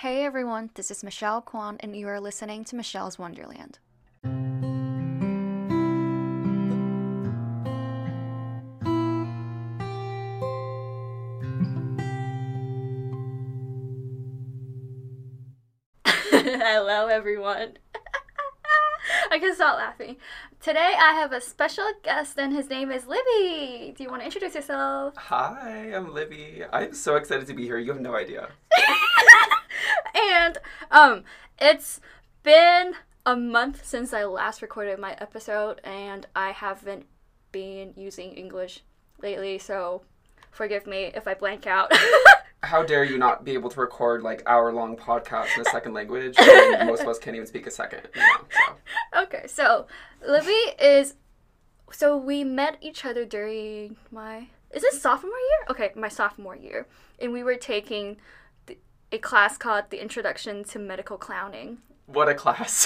Hey everyone, this is Michelle Kwan, and you are listening to Michelle's Wonderland. Hello everyone. I can stop laughing. Today I have a special guest and his name is Libby. Do you want to introduce yourself? Hi, I'm Libby. I'm so excited to be here. You have no idea. And it's been a month since I last recorded my episode, and I haven't been using English lately, so forgive me if I blank out. How dare you not be able to record like hour-long podcasts in a second language when most of us can't even speak a second. Okay, so Libby is... So we met each other during my... Is it sophomore year? Okay, my sophomore year. And we were taking a class called The Introduction to Medical Clowning. What a class.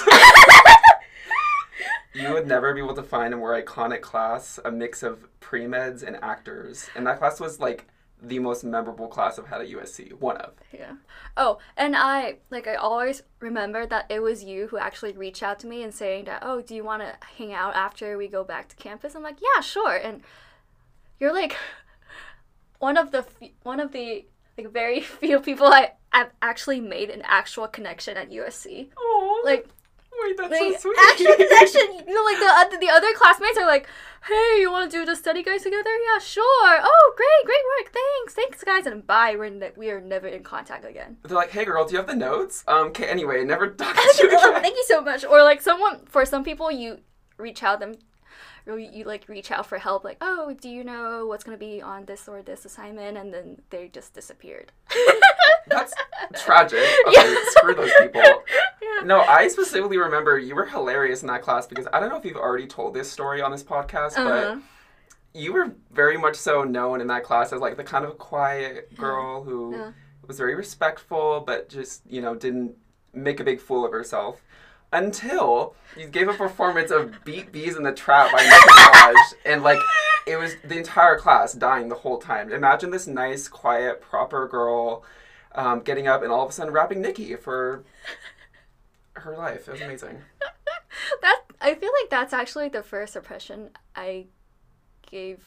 You would never be able to find a more iconic class, a mix of pre-meds and actors. And that class was like the most memorable class I've had at USC. One of. Yeah. Oh, and I always remember that it was you who actually reached out to me and saying that, oh, do you want to hang out after we go back to campus? I'm like, yeah, sure. And you're like one of the like very few people I've actually made an actual connection at USC. Oh. Like, wait, that's like, so sweet. actual connection. You know, like the other classmates are like, hey, you want to do the study guide together? Yeah, sure. Oh, great work. Thanks, guys. And bye. We are never in contact again. They're like, hey, girl, do you have the notes? Okay, anyway, never talk to you again. Thank you so much. Or like for some people, you reach out reach out for help. Like, oh, do you know what's gonna be on this or this assignment? And then they just disappeared. That's tragic. Okay, Yeah. Screw those people. Yeah. No, I specifically remember you were hilarious in that class because I don't know if you've already told this story on this podcast, but you were very much so known in that class as like the kind of quiet girl who was very respectful, but just, didn't make a big fool of herself. Until you gave a performance of Beat Bees in the Trap by Nicki Minaj, and like it was the entire class dying the whole time. Imagine this nice, quiet, proper girl getting up and all of a sudden rapping Nicki for her life. It was amazing. I feel like that's actually the first impression I give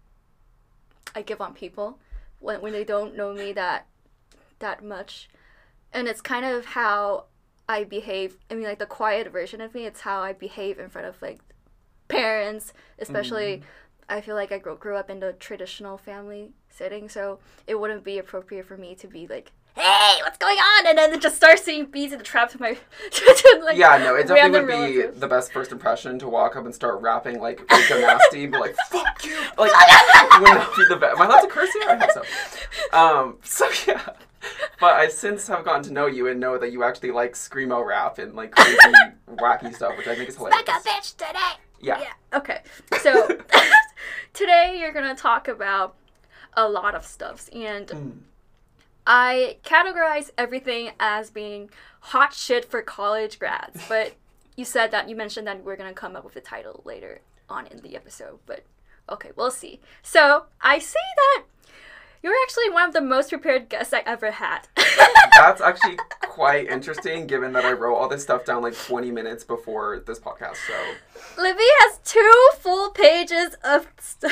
on people when they don't know me that much, and it's kind of how I behave. I mean, like the quiet version of me. It's how I behave in front of like parents, especially. I feel like I grew up in the traditional family setting, so it wouldn't be appropriate for me to be like, hey, what's going on? And then just start singing Bees in the Trap to my like, yeah, no, it definitely would be relatives. the best first impression to walk up and start rapping like Rico Nasty, be like, fuck you! Like, would not be the best. Am I allowed to curse here? I hope so. So yeah. But I since have gotten to know you and know that you actually like screamo rap and like crazy, wacky stuff, which I think is hilarious. Like a bitch today! Yeah. Okay, so today you're going to talk about a lot of stuff, and I categorize everything as being hot shit for college grads, but you mentioned that we're going to come up with a title later on in the episode, but okay, we'll see. So, I see that you're actually one of the most prepared guests I ever had. That's actually quite interesting, given that I wrote all this stuff down like 20 minutes before this podcast, so... Libby has 2 full pages of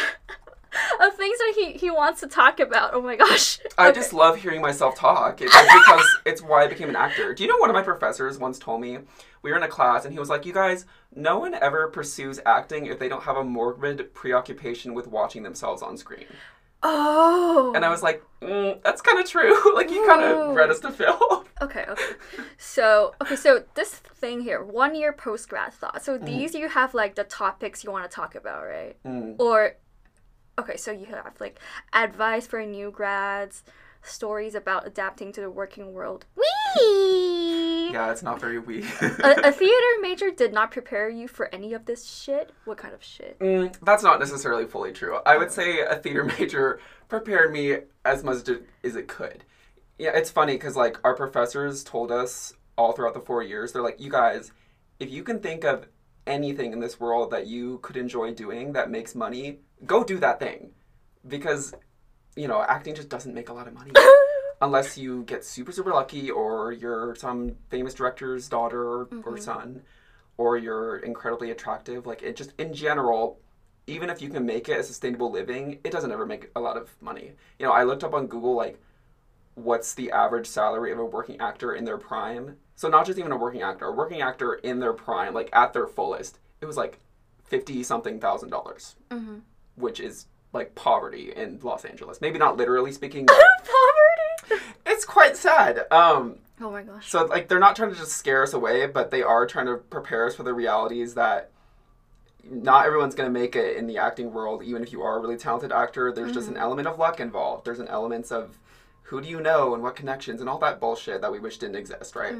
of things that he wants to talk about. Oh my gosh. I just love hearing myself talk. It's because it's why I became an actor. Do you know one of my professors once told me, we were in a class and he was like, you guys, no one ever pursues acting if they don't have a morbid preoccupation with watching themselves on screen. Oh. And I was like, that's kind of true. Like, you kind of read us to film. Okay. So this thing here, 1 year post-grad thought. So these you have, like, the topics you want to talk about, right? Or, okay, so you have, like, advice for new grads, stories about adapting to the working world. Whee! Yeah, it's not very wee. a theater major did not prepare you for any of this shit? What kind of shit? That's not necessarily fully true. I would say a theater major prepared me as much as it could. Yeah, it's funny because, like, our professors told us all throughout the 4 years, they're like, you guys, if you can think of anything in this world that you could enjoy doing that makes money, go do that thing. Because, acting just doesn't make a lot of money. unless you get super, super lucky, or you're some famous director's daughter or son, or you're incredibly attractive. Like, it just, in general, even if you can make it a sustainable living, it doesn't ever make a lot of money. You know, I looked up on Google, like, what's the average salary of a working actor in their prime. So not just even a working actor in their prime, like, at their fullest, it was, like, $50-something thousand, which is, like, poverty in Los Angeles. Maybe not literally speaking. Poverty? It's quite sad. Oh my gosh. So, like, they're not trying to just scare us away, but they are trying to prepare us for the realities that not everyone's going to make it in the acting world, even if you are a really talented actor. There's just an element of luck involved. There's an element of who do you know and what connections and all that bullshit that we wish didn't exist, right?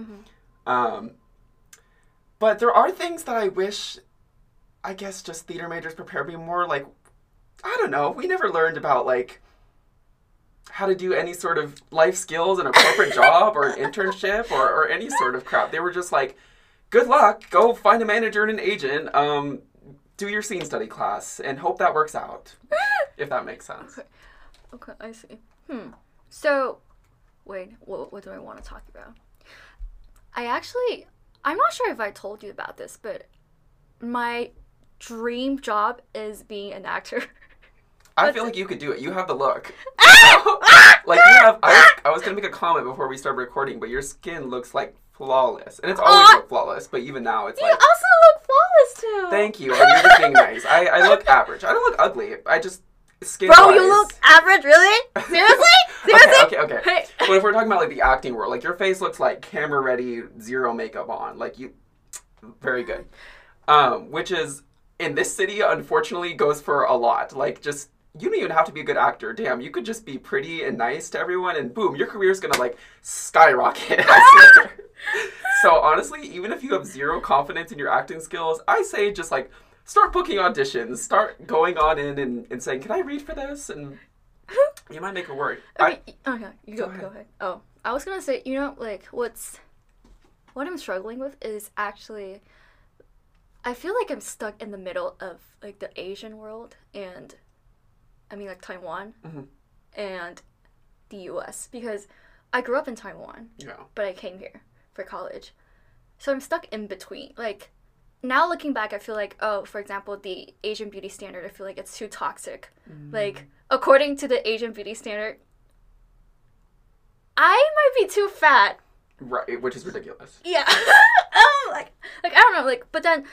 But there are things that I wish, I guess, just theater majors prepare me more. Like, I don't know. We never learned about, like, how to do any sort of life skills in a corporate job or an internship or any sort of crap. They were just like, good luck. Go find a manager and an agent. Do your scene study class and hope that works out. If that makes sense. Okay, I see. So, wait, what do I want to talk about? I'm not sure if I told you about this, but my dream job is being an actor. I feel like you could do it. You have the look. Like, you have, I was going to make a comment before we started recording, but your skin looks, like, flawless. And it's always looked flawless, but even now it's like... You also look flawless, too. Thank you. You're just being nice. I look average. I don't look ugly. I just... Bro, you look average, really? Seriously? Seriously? Okay. Hey. But if we're talking about, like, the acting world, like, your face looks like camera ready, zero makeup on. Like, you... Very good. Which is, in this city, unfortunately, goes for a lot. Like, just... You don't even have to be a good actor. Damn, you could just be pretty and nice to everyone, and boom, your career's gonna, like, skyrocket. I swear. So, honestly, even if you have zero confidence in your acting skills, I say just, like... Start booking auditions. Start going on in and saying, can I read for this? And you might make it work. Okay, you go ahead. Oh, I was going to say, like, what I'm struggling with is actually, I feel like I'm stuck in the middle of, like, the Asian world and, I mean, like, Taiwan and the U.S. Because I grew up in Taiwan, but I came here for college. So I'm stuck in between. Like, now looking back, I feel like, for example, the Asian beauty standard, I feel like it's too toxic. Like, according to the Asian beauty standard, I might be too fat. Right, which is ridiculous. Yeah. like, I don't know, like, but then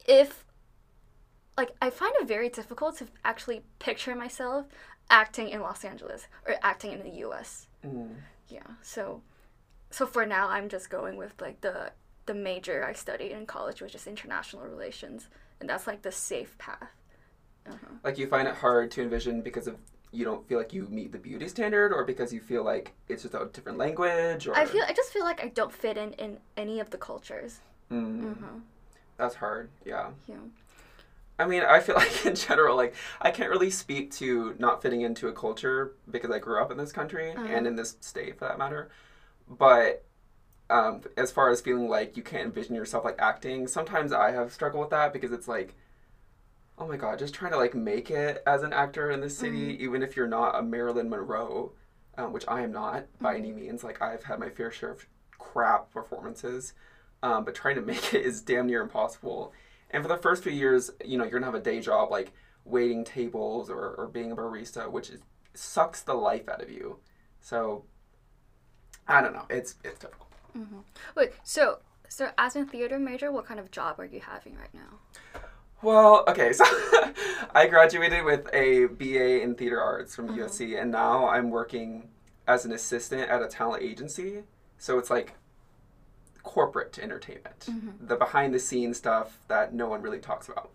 I find it very difficult to actually picture myself acting in Los Angeles or acting in the U.S. Yeah, so for now, I'm just going with, like, the major I studied in college, which is international relations, and that's, like, the safe path. Like, you find it hard to envision because of you don't feel like you meet the beauty standard, or because you feel like it's just a different language, or... I just feel like I don't fit in any of the cultures. That's hard, yeah. I mean, I feel like in general, like, I can't really speak to not fitting into a culture because I grew up in this country and in this state, for that matter. But as far as feeling like you can't envision yourself, like, acting, sometimes I have struggled with that because it's like, oh my god, just trying to, like, make it as an actor in this city, even if you're not a Marilyn Monroe, which I am not by any means. Like, I've had my fair share of crap performances, but trying to make it is damn near impossible. And for the first few years, you're going to have a day job, like, waiting tables or being a barista, which sucks the life out of you. So, I don't know. It's difficult. Wait, so as a theater major, what kind of job are you having right now? Well, okay, so I graduated with a BA in theater arts from USC, and now I'm working as an assistant at a talent agency. So it's like corporate entertainment, the behind-the-scenes stuff that no one really talks about.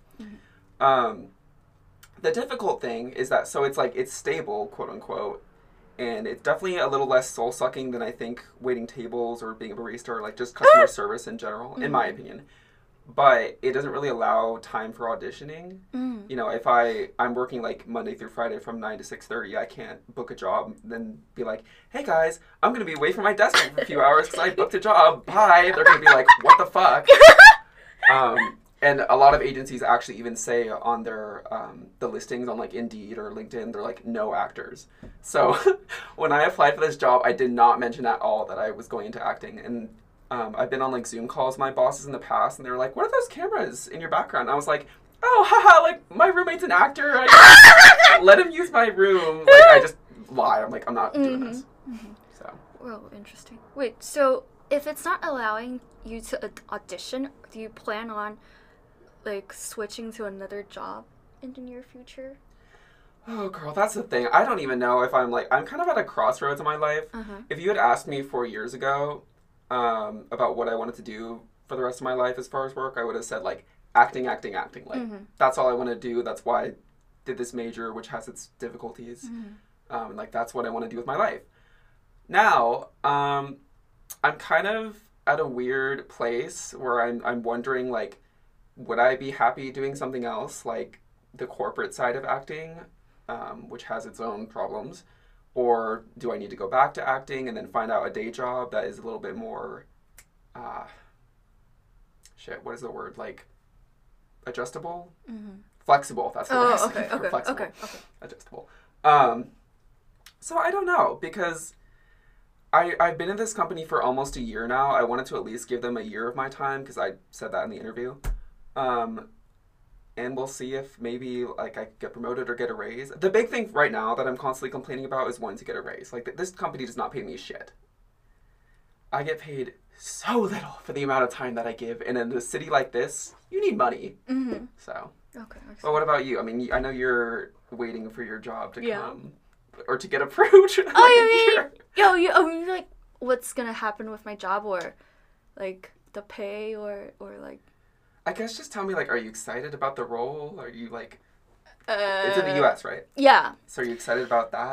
The difficult thing is that, so it's like, it's stable, quote-unquote, and it's definitely a little less soul-sucking than I think waiting tables or being a barista or, like, just customer service in general, in my opinion. But it doesn't really allow time for auditioning. If I'm working, like, Monday through Friday from 9 to 6:30, I can't book a job, then be like, hey guys, I'm going to be away from my desk for a few hours because I booked a job. Bye. They're going to be like, what the fuck? And a lot of agencies actually even say on their the listings on like Indeed or LinkedIn, they're like no actors. So when I applied for this job, I did not mention at all that I was going into acting. And I've been on like Zoom calls with my bosses in the past, and they were like, "What are those cameras in your background?" And I was like, "Oh, haha! Like my roommate's an actor. I let him use my room." Like I just lie. I'm like, I'm not doing this. So. Well, interesting. Wait, so if it's not allowing you to audition, do you plan on like switching to another job in the near future? Oh, girl, that's the thing. I don't even know if I'm kind of at a crossroads in my life. If you had asked me 4 years ago about what I wanted to do for the rest of my life as far as work, I would have said like acting. Like that's all I want to do. That's why I did this major, which has its difficulties. Like that's what I want to do with my life. Now, I'm kind of at a weird place where I'm wondering like, would I be happy doing something else, like the corporate side of acting, which has its own problems? Or do I need to go back to acting and then find out a day job that is a little bit more, what is the word? Like, adjustable? Flexible, that's the word. Okay. Adjustable. So I don't know, because I've been in this company for almost a year now. I wanted to at least give them a year of my time, because I said that in the interview. And we'll see if maybe like I get promoted or get a raise. The big thing right now that I'm constantly complaining about is wanting to get a raise. Like this company does not pay me shit. I get paid so little for the amount of time that I give, and in a city like this, you need money. So. Okay. But what about you? I mean, I know you're waiting for your job to come or to get approved. You like what's gonna happen with my job, or like the pay, or like. I guess just tell me, like, are you excited about the role? Are you, like... it's in the U.S., right? Yeah. So are you excited about that?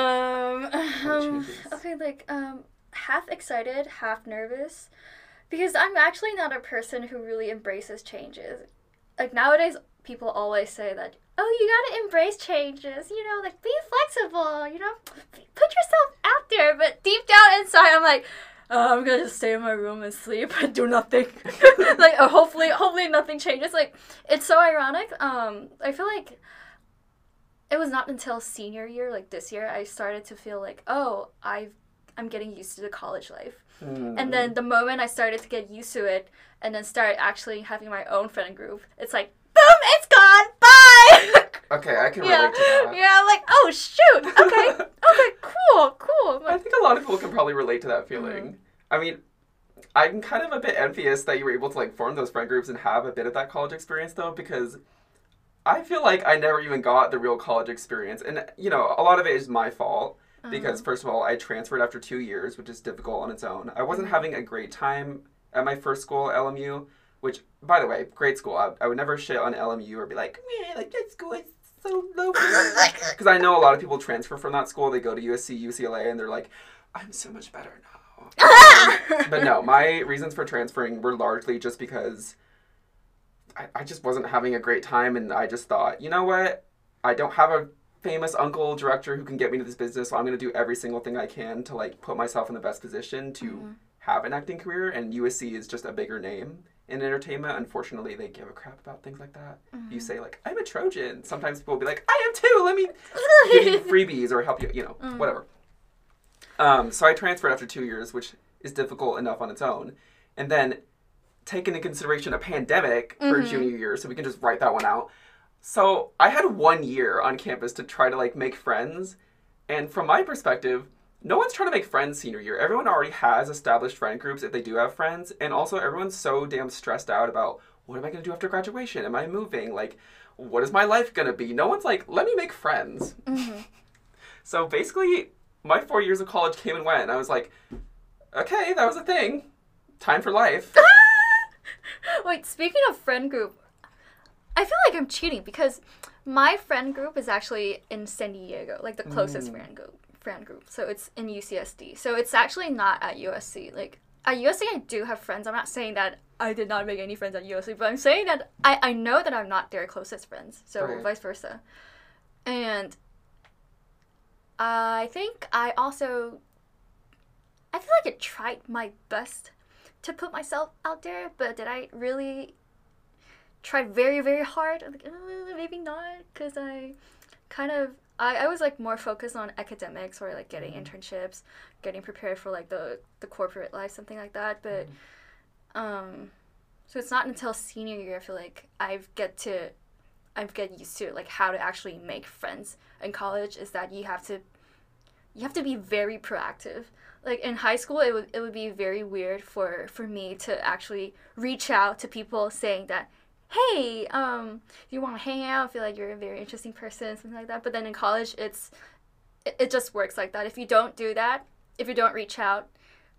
Okay, like, half excited, half nervous. Because I'm actually not a person who really embraces changes. Like, nowadays, people always say that, oh, you gotta embrace changes, you know, like, be flexible, you know? Put yourself out there. But deep down inside, I'm like... I'm gonna just stay in my room and sleep and do nothing. Like, hopefully nothing changes. Like, it's so ironic. I feel like it was not until senior year, like this year, I started to feel like, oh, I'm getting used to the college life. And then the moment I started to get used to it and then start actually having my own friend group, it's like, boom, it's gone, bye! Okay, I can relate to that. Yeah, I'm like, oh, shoot, okay, cool. I think a lot of people can probably relate to that feeling. I mean, I'm kind of a bit envious that you were able to, like, form those friend groups and have a bit of that college experience, though, because I feel like I never even got the real college experience. And, you know, a lot of it is my fault, because, first of all, I transferred after 2 years, which is difficult on its own. I wasn't having a great time at my first school, LMU, which, by the way, great school. I would never shit on LMU or be like, man, like, that school is so low. Because I know a lot of people transfer from that school. They go to USC, UCLA, and they're like, I'm so much better now. But no, my reasons for transferring were largely just because I just wasn't having a great time, and I just thought, you know what? I don't have a famous uncle director who can get me to this business, so I'm going to do every single thing I can to, like, put myself in the best position to have an acting career, and USC is just a bigger name in entertainment. Unfortunately, they give a crap about things like that. You say, like, I'm a Trojan. Sometimes people will be like, I am too. Let me give you freebies or help you, you know, whatever. So I transferred after 2 years, which is difficult enough on its own. And then take into consideration a pandemic for junior year, so we can just write that one out. So I had 1 year on campus to try to, like, make friends. And from my perspective, no one's trying to make friends senior year. Everyone already has established friend groups if they do have friends. And also everyone's so damn stressed out about, what am I going to do after graduation? Am I moving? Like, what is my life going to be? No one's like, let me make friends. So basically, my 4 years of college came and went. And I was like, okay, that was a thing. Time for life. Wait, speaking of friend group, I feel like I'm cheating because my friend group is actually in San Diego, like the closest friend group. So it's in UCSD. So it's actually not at USC. Like, at USC I do have friends. I'm not saying that I did not make any friends at USC, but I'm saying that I know that I'm not their closest friends. So vice versa. And I think I feel like I tried my best to put myself out there, but did I really tried very, very hard. I'm like, maybe not, because I was like more focused on academics or like getting internships, getting prepared for like the corporate life, something like that. But so it's not until senior year I feel like I get used to like how to actually make friends in college. Is that you have to be very proactive. Like in high school, it would be very weird for me to actually reach out to people saying that, hey, you want to hang out? I feel like you're a very interesting person, something like that. But then in college, it just works like that. If you don't do that, if you don't reach out,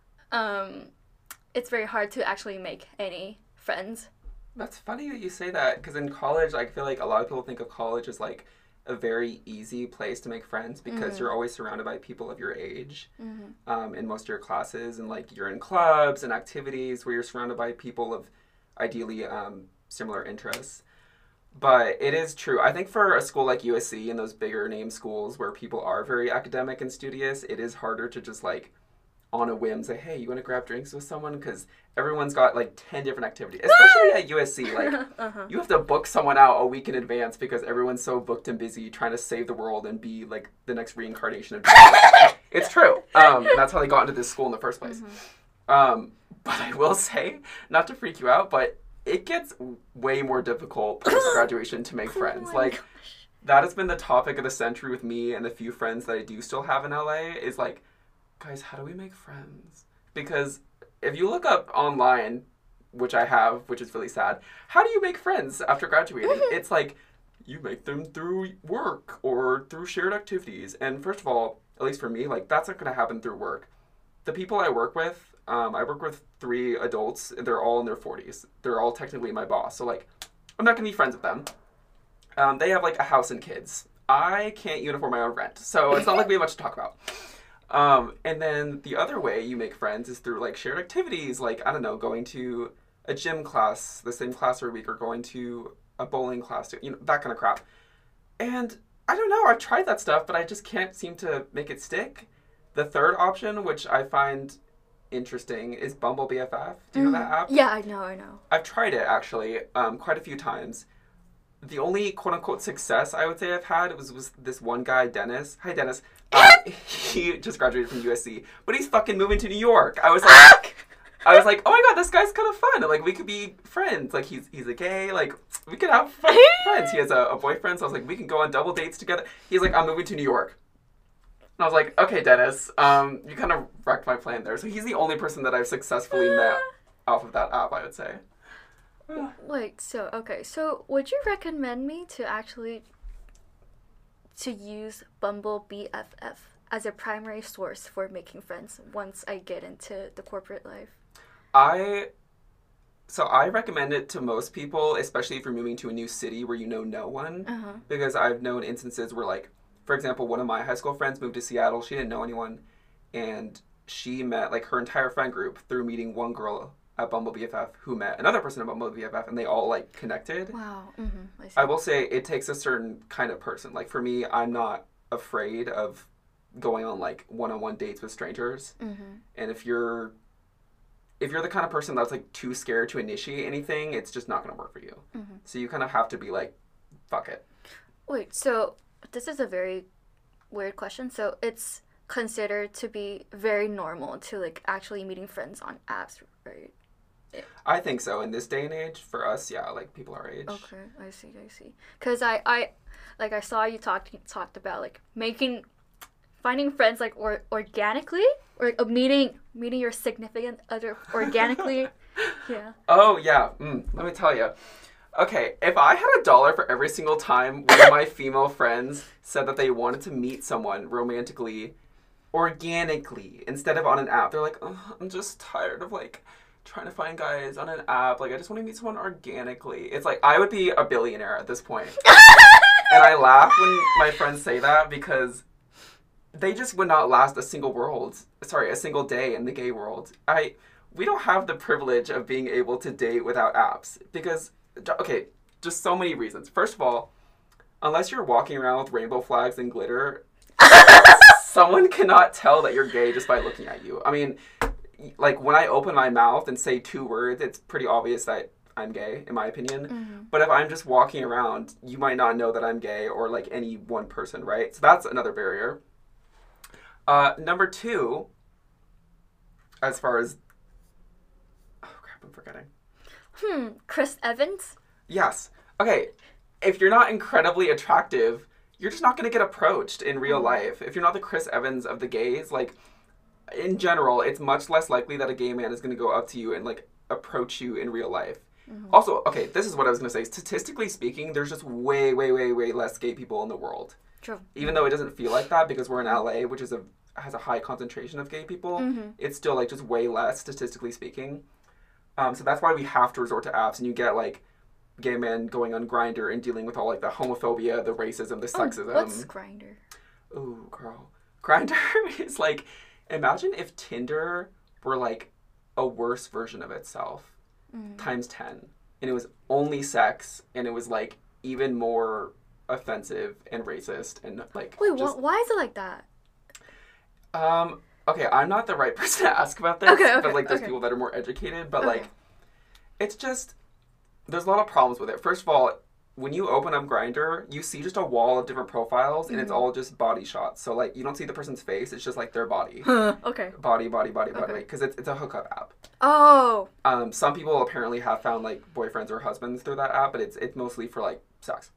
it's very hard to actually make any friends. That's funny that you say that, because in college, I feel like a lot of people think of college as like a very easy place to make friends, because you're always surrounded by people of your age in most of your classes, and like you're in clubs and activities where you're surrounded by people of ideally similar interests. But it is true. I think for a school like USC and those bigger name schools where people are very academic and studious, it is harder to just like on a whim say, hey, you want to grab drinks with someone? Because everyone's got like 10 different activities, especially at USC. Like you have to book someone out a week in advance because everyone's so booked and busy trying to save the world and be like the next reincarnation of Jesus. It's true. That's how they got into this school in the first place. But I will say, not to freak you out, but it gets way more difficult post-graduation to make friends. Like, that has been the topic of the century with me and the few friends that I do still have in LA, is like, guys, how do we make friends? Because if you look up online, which I have, which is really sad, how do you make friends after graduating? It's like, you make them through work or through shared activities. And first of all, at least for me, like, that's not going to happen through work. The people I work with 3 adults. They're all in their 40s. They're all technically my boss. So, like, I'm not going to be friends with them. They have, like, a house and kids. I can't even afford my own rent. So it's not like we have much to talk about. And then the other way you make friends is through, like, shared activities. Like, I don't know, going to a gym class, the same class every week, or going to a bowling class, you know, that kind of crap. And I don't know. I've tried that stuff, but I just can't seem to make it stick. The third option, which I find interesting, is Bumble BFF. Do you know that app? Yeah, I know. I've tried it, actually, quite a few times. The only quote-unquote success I would say I've had was this one guy, Dennis. Hi, Dennis. He just graduated from USC, but he's fucking moving to New York. I was like, oh my god, this guy's kind of fun. Like, we could be friends. Like, he's a gay. Like, we could have fun friends. He has a boyfriend, so I was like, we can go on double dates together. He's like, I'm moving to New York. And I was like, okay, Dennis, you kind of wrecked my plan there. So he's the only person that I've successfully met off of that app, I would say. Wait, so would you recommend me to use Bumble BFF as a primary source for making friends once I get into the corporate life? I recommend it to most people, especially if you're moving to a new city where you know no one. Because I've known instances where, like, for example, one of my high school friends moved to Seattle. She didn't know anyone. And she met, like, her entire friend group through meeting one girl at Bumble BFF who met another person at Bumble BFF, and they all, like, connected. Wow. I will say it takes a certain kind of person. Like, for me, I'm not afraid of going on, like, one-on-one dates with strangers. And if you're the kind of person that's, like, too scared to initiate anything, it's just not going to work for you. So you kind of have to be like, fuck it. Wait, so this is a very weird question. So it's considered to be very normal to, like, actually meeting friends on apps, right? I think so. In this day and age, for us, yeah, like, people our age. Okay, I see. Because I saw you talked about, like, finding friends, like, organically, or meeting your significant other organically. Yeah. Oh, yeah. Let me tell you. Okay, if I had $1 for every single time one of my female friends said that they wanted to meet someone romantically, organically, instead of on an app, they're like, oh, I'm just tired of, like, trying to find guys on an app. Like, I just want to meet someone organically. It's like, I would be a billionaire at this point. And I laugh when my friends say that, because they just would not last a single day in the gay world. We don't have the privilege of being able to date without apps, because, okay, just so many reasons. First of all, unless you're walking around with rainbow flags and glitter, someone cannot tell that you're gay just by looking at you. I mean, like, when I open my mouth and say 2 words, it's pretty obvious that I'm gay, in my opinion. But if I'm just walking around, you might not know that I'm gay or, like, any one person, right? So that's another barrier. Number 2, as far as... Oh, crap, I'm forgetting. Chris Evans? Yes. Okay, if you're not incredibly attractive, you're just not going to get approached in real life. If you're not the Chris Evans of the gays, like, in general, it's much less likely that a gay man is going to go up to you and, like, approach you in real life. Also, okay, this is what I was going to say. Statistically speaking, there's just way, way, way, way less gay people in the world. True. Even though it doesn't feel like that because we're in LA, which is has a high concentration of gay people, it's still, like, just way less, statistically speaking. So that's why we have to resort to apps, and you get, like, gay men going on Grindr and dealing with all, like, the homophobia, the racism, the sexism. What's Grindr? Ooh, girl. Grindr is, like, imagine if Tinder were, like, a worse version of itself times 10. And it was only sex, and it was, like, even more offensive and racist and, like... Wait, why is it like that? Okay, I'm not the right person to ask about this, but, like, there's people that are more educated, but, like, it's just... There's a lot of problems with it. First of all, when you open up Grindr, you see just a wall of different profiles, and it's all just body shots. So, like, you don't see the person's face. It's just, like, their body. Okay. Body. Because it's a hookup app. Oh. Some people apparently have found, like, boyfriends or husbands through that app, but it's mostly for, like, sex.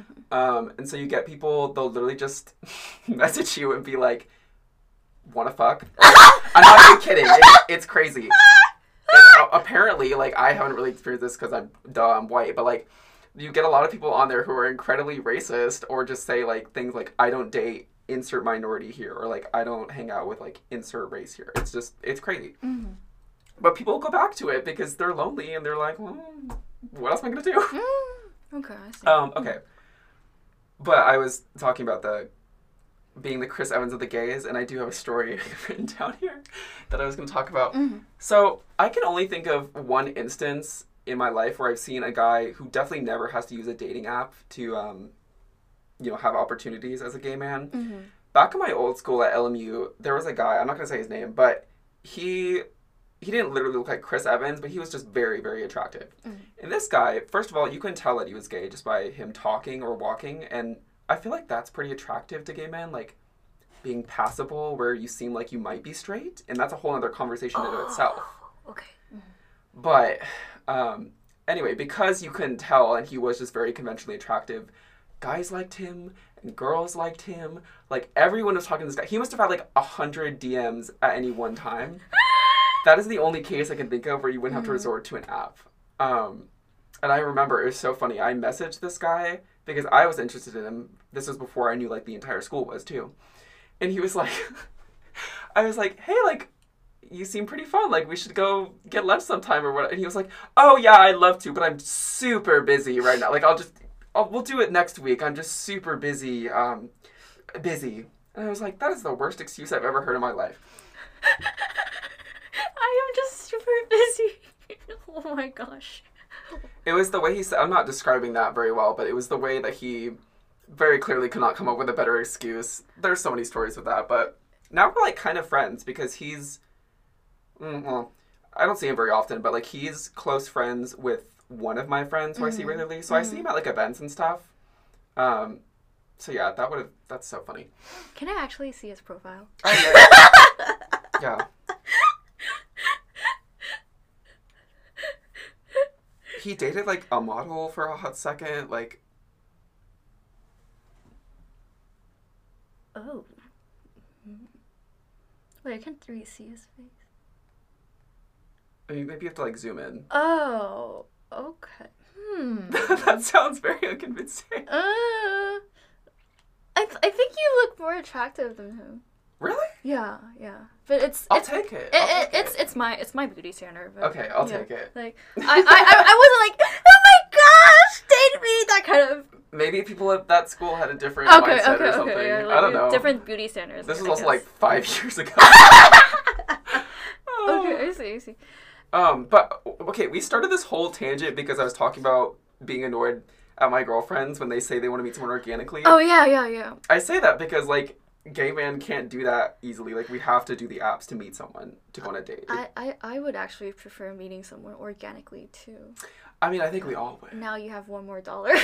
And so you get people, they'll literally just message you and be like, wanna fuck? I'm not even kidding. It's crazy. And apparently, like, I haven't really experienced this because I'm white, but, like, you get a lot of people on there who are incredibly racist or just say, like, things like, I don't date insert minority here, or, like, I don't hang out with, like, insert race here. It's crazy. But people go back to it because they're lonely and they're like, well, what else am I going to do? Okay, I see. Okay. But I was talking about being the Chris Evans of the gays, and I do have a story written down here that I was going to talk about. So I can only think of one instance in my life where I've seen a guy who definitely never has to use a dating app to, have opportunities as a gay man. Back in my old school at LMU, there was a guy, I'm not going to say his name, but he didn't literally look like Chris Evans, but he was just very, very attractive. And this guy, first of all, you couldn't tell that he was gay just by him talking or walking, and I feel like that's pretty attractive to gay men, like being passable where you seem like you might be straight, and that's a whole other conversation in itself. Okay. But anyway, because you couldn't tell and he was just very conventionally attractive, guys liked him and girls liked him. Like, everyone was talking to this guy. He must have had like 100 DMs at any one time. That is the only case I can think of where you wouldn't have to resort to an app. And I remember it was so funny. I messaged this guy because I was interested in him. This was before I knew, like, the entire school was, too. And he was like, I was like, hey, like, you seem pretty fun. Like, we should go get lunch sometime or what. And he was like, oh, yeah, I'd love to, but I'm super busy right now. Like, we'll do it next week. I'm just super busy. Busy. And I was like, that is the worst excuse I've ever heard in my life. I am just super busy. Oh my gosh. It was the way he said, I'm not describing that very well, but it was the way that he very clearly could not come up with a better excuse. There's so many stories with that, but now we're, like, kind of friends because he's, well, I don't see him very often, but, like, he's close friends with one of my friends who I see regularly, so I see him at, like, events and stuff. So yeah, that's so funny. Can I actually see his profile? Yeah. He dated, like, a model for a hot second, like... Oh. Wait, I can't really see his face. I mean, maybe you have to, like, zoom in. Oh, okay. That sounds very unconvincing. I think you look more attractive than him. Really? Yeah. But I'll take it. It's my beauty standard. But, okay, I'll take it. Like, I wasn't like, oh my gosh, date me, that kind of. Maybe people at that school had a different mindset or something. Yeah, like, I don't know. Different beauty standards. This was also like 5 years ago. Okay, I see. But okay, we started this whole tangent because I was talking about being annoyed at my girlfriends when they say they want to meet someone organically. Oh yeah. I say that because, like, gay men can't do that easily. Like, we have to do the apps to meet someone to go on a date. I would actually prefer meeting someone organically too. I mean, I think we all would. Now you have $1 more.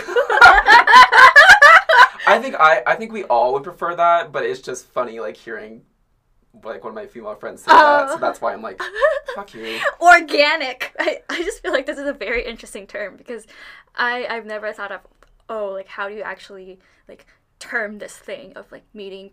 I think we all would prefer that, but it's just funny, like, hearing, like, one of my female friends say that, so that's why I'm like, fuck you. Organic. I just feel like this is a very interesting term, because I've never thought of, like, how do you actually, like, term this thing of, like, meeting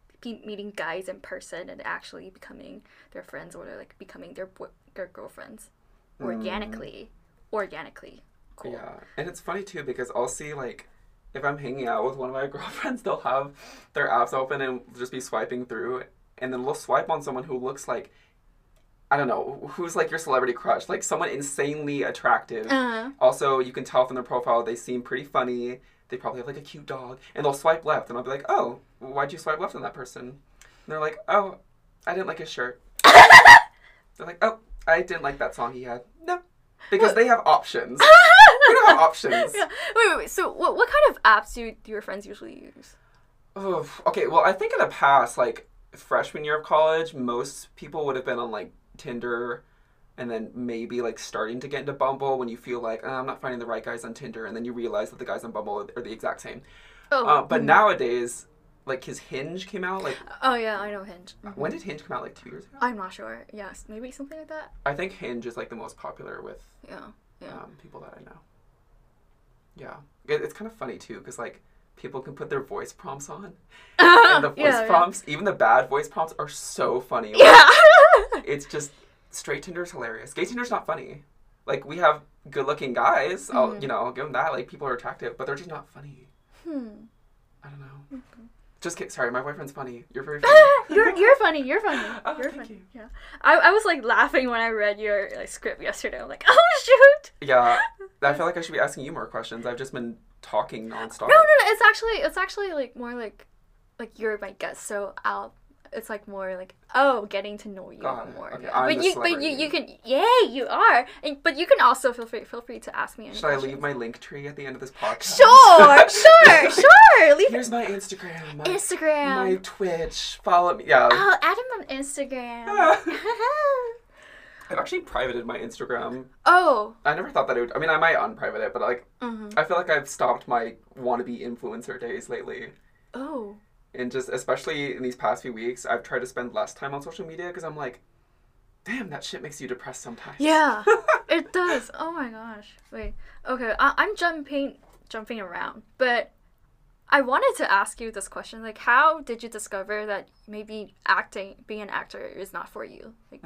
guys in person and actually becoming their friends, or, like, becoming their girlfriends organically. Organically. Cool. Yeah, and it's funny, too, because I'll see, like, if I'm hanging out with one of my girlfriends, they'll have their apps open and just be swiping through, and then we'll swipe on someone who looks like, I don't know, who's like your celebrity crush, like someone insanely attractive. Also, you can tell from their profile they seem pretty funny. They probably have like a cute dog, and they'll swipe left, and I'll be like, oh, why'd you swipe left on that person? And they're like, oh, I didn't like his shirt. They're like, oh, I didn't like that song he had. No, because they have options. We don't have options. Yeah. Wait. So what kind of apps do your friends usually use? Oh, okay, well, I think in the past, like, freshman year of college, most people would have been on, like, Tinder, and then maybe, like, starting to get into Bumble when you feel like, I'm not finding the right guys on Tinder, and then you realize that the guys on Bumble are the exact same. But nowadays, like, his Hinge came out, like... Oh, yeah, I know Hinge. Mm-hmm. When did Hinge come out, like, 2 years ago? I'm not sure. Yes, maybe something like that. I think Hinge is, like, the most popular with yeah. People that I know. Yeah. It's kind of funny, too, because, like, people can put their voice prompts on. And the voice prompts, even the bad voice prompts, are so funny. Like, yeah. It's just, straight Tinder's hilarious. Gay Tinder's not funny. Like, we have good-looking guys. I'll give them that. Like, people are attractive, but they're just not funny. I don't know. Okay. Just kidding. Sorry, my boyfriend's funny. You're very funny. You're funny. You're funny. Oh, you're thank funny. you. Yeah. I was like laughing when I read your script yesterday. I'm like, oh shoot. Yeah. I feel like I should be asking you more questions. I've just been talking nonstop. No. It's actually like more like you're my guest, so it's like more like getting to know you more. Okay, yeah. but you can you are, but you can also feel free to ask me any questions. Should I leave my link tree at the end of this podcast? Sure. Here's my Instagram. My Twitch. Follow me. Yeah. Oh, add him on Instagram. I've actually privated my Instagram. Oh. I never thought that it would... I mean, I might unprivate it, but, like, I feel like I've stopped my wannabe influencer days lately. Oh. And just, especially in these past few weeks, I've tried to spend less time on social media because I'm like, damn, that shit makes you depressed sometimes. Yeah, it does. Oh my gosh. Wait. Okay, I'm jumping around, but I wanted to ask you this question. Like, how did you discover that maybe being an actor is not for you? Like,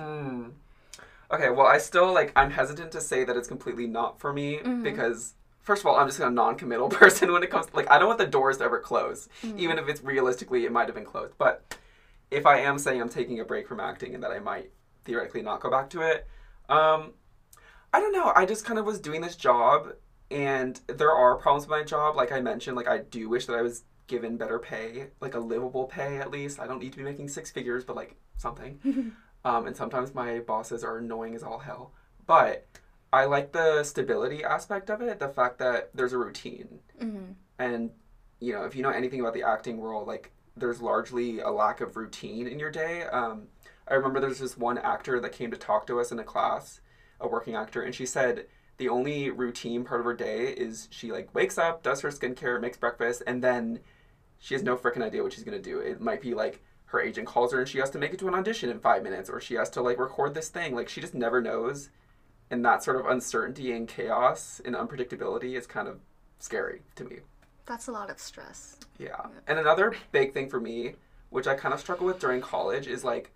Okay, well, I still, like, I'm hesitant to say that it's completely not for me because, first of all, I'm just a non-committal person when it comes to, like, I don't want the doors to ever close, even if it's realistically, it might have been closed. But if I am saying I'm taking a break from acting and that I might theoretically not go back to it, I don't know. I just kind of was doing this job, and there are problems with my job. Like I mentioned, like, I do wish that I was given better pay, like a livable pay at least. I don't need to be making 6 figures, but, like, something. And sometimes my bosses are annoying as all hell. But I like the stability aspect of it, the fact that there's a routine. And, you know, if you know anything about the acting world, like, there's largely a lack of routine in your day. I remember there's this one actor that came to talk to us in a class, a working actor, and she said the only routine part of her day is she, like, wakes up, does her skincare, makes breakfast, and then she has no freaking idea what she's going to do. It might be, like, her agent calls her and she has to make it to an audition in 5 minutes, or she has to, like, record this thing. Like, she just never knows. And that sort of uncertainty and chaos and unpredictability is kind of scary to me. That's a lot of stress. Yeah. And another big thing for me, which I kind of struggle with during college, is, like,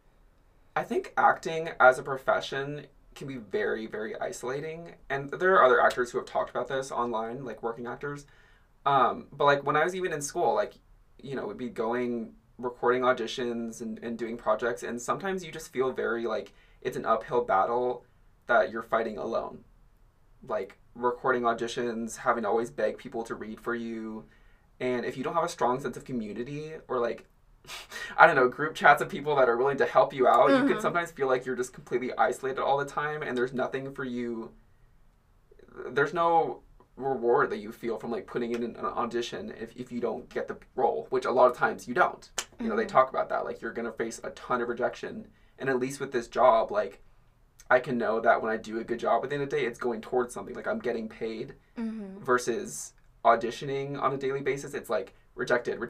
I think acting as a profession can be very, very isolating. And there are other actors who have talked about this online, like working actors. But, like, when I was even in school, like, you know, we'd be recording auditions and doing projects, and sometimes you just feel very, like, it's an uphill battle that you're fighting alone. Like, recording auditions, having to always beg people to read for you, and if you don't have a strong sense of community, or, like, I don't know, group chats of people that are willing to help you out, you can sometimes feel like you're just completely isolated all the time, and there's nothing for you, there's no reward that you feel from like putting in an audition if you don't get the role, which a lot of times you don't. You know, they talk about that, like you're gonna face a ton of rejection, and at least with this job, like I can know that when I do a good job at the end of the day, it's going towards something, like I'm getting paid, versus auditioning on a daily basis. It's like rejected.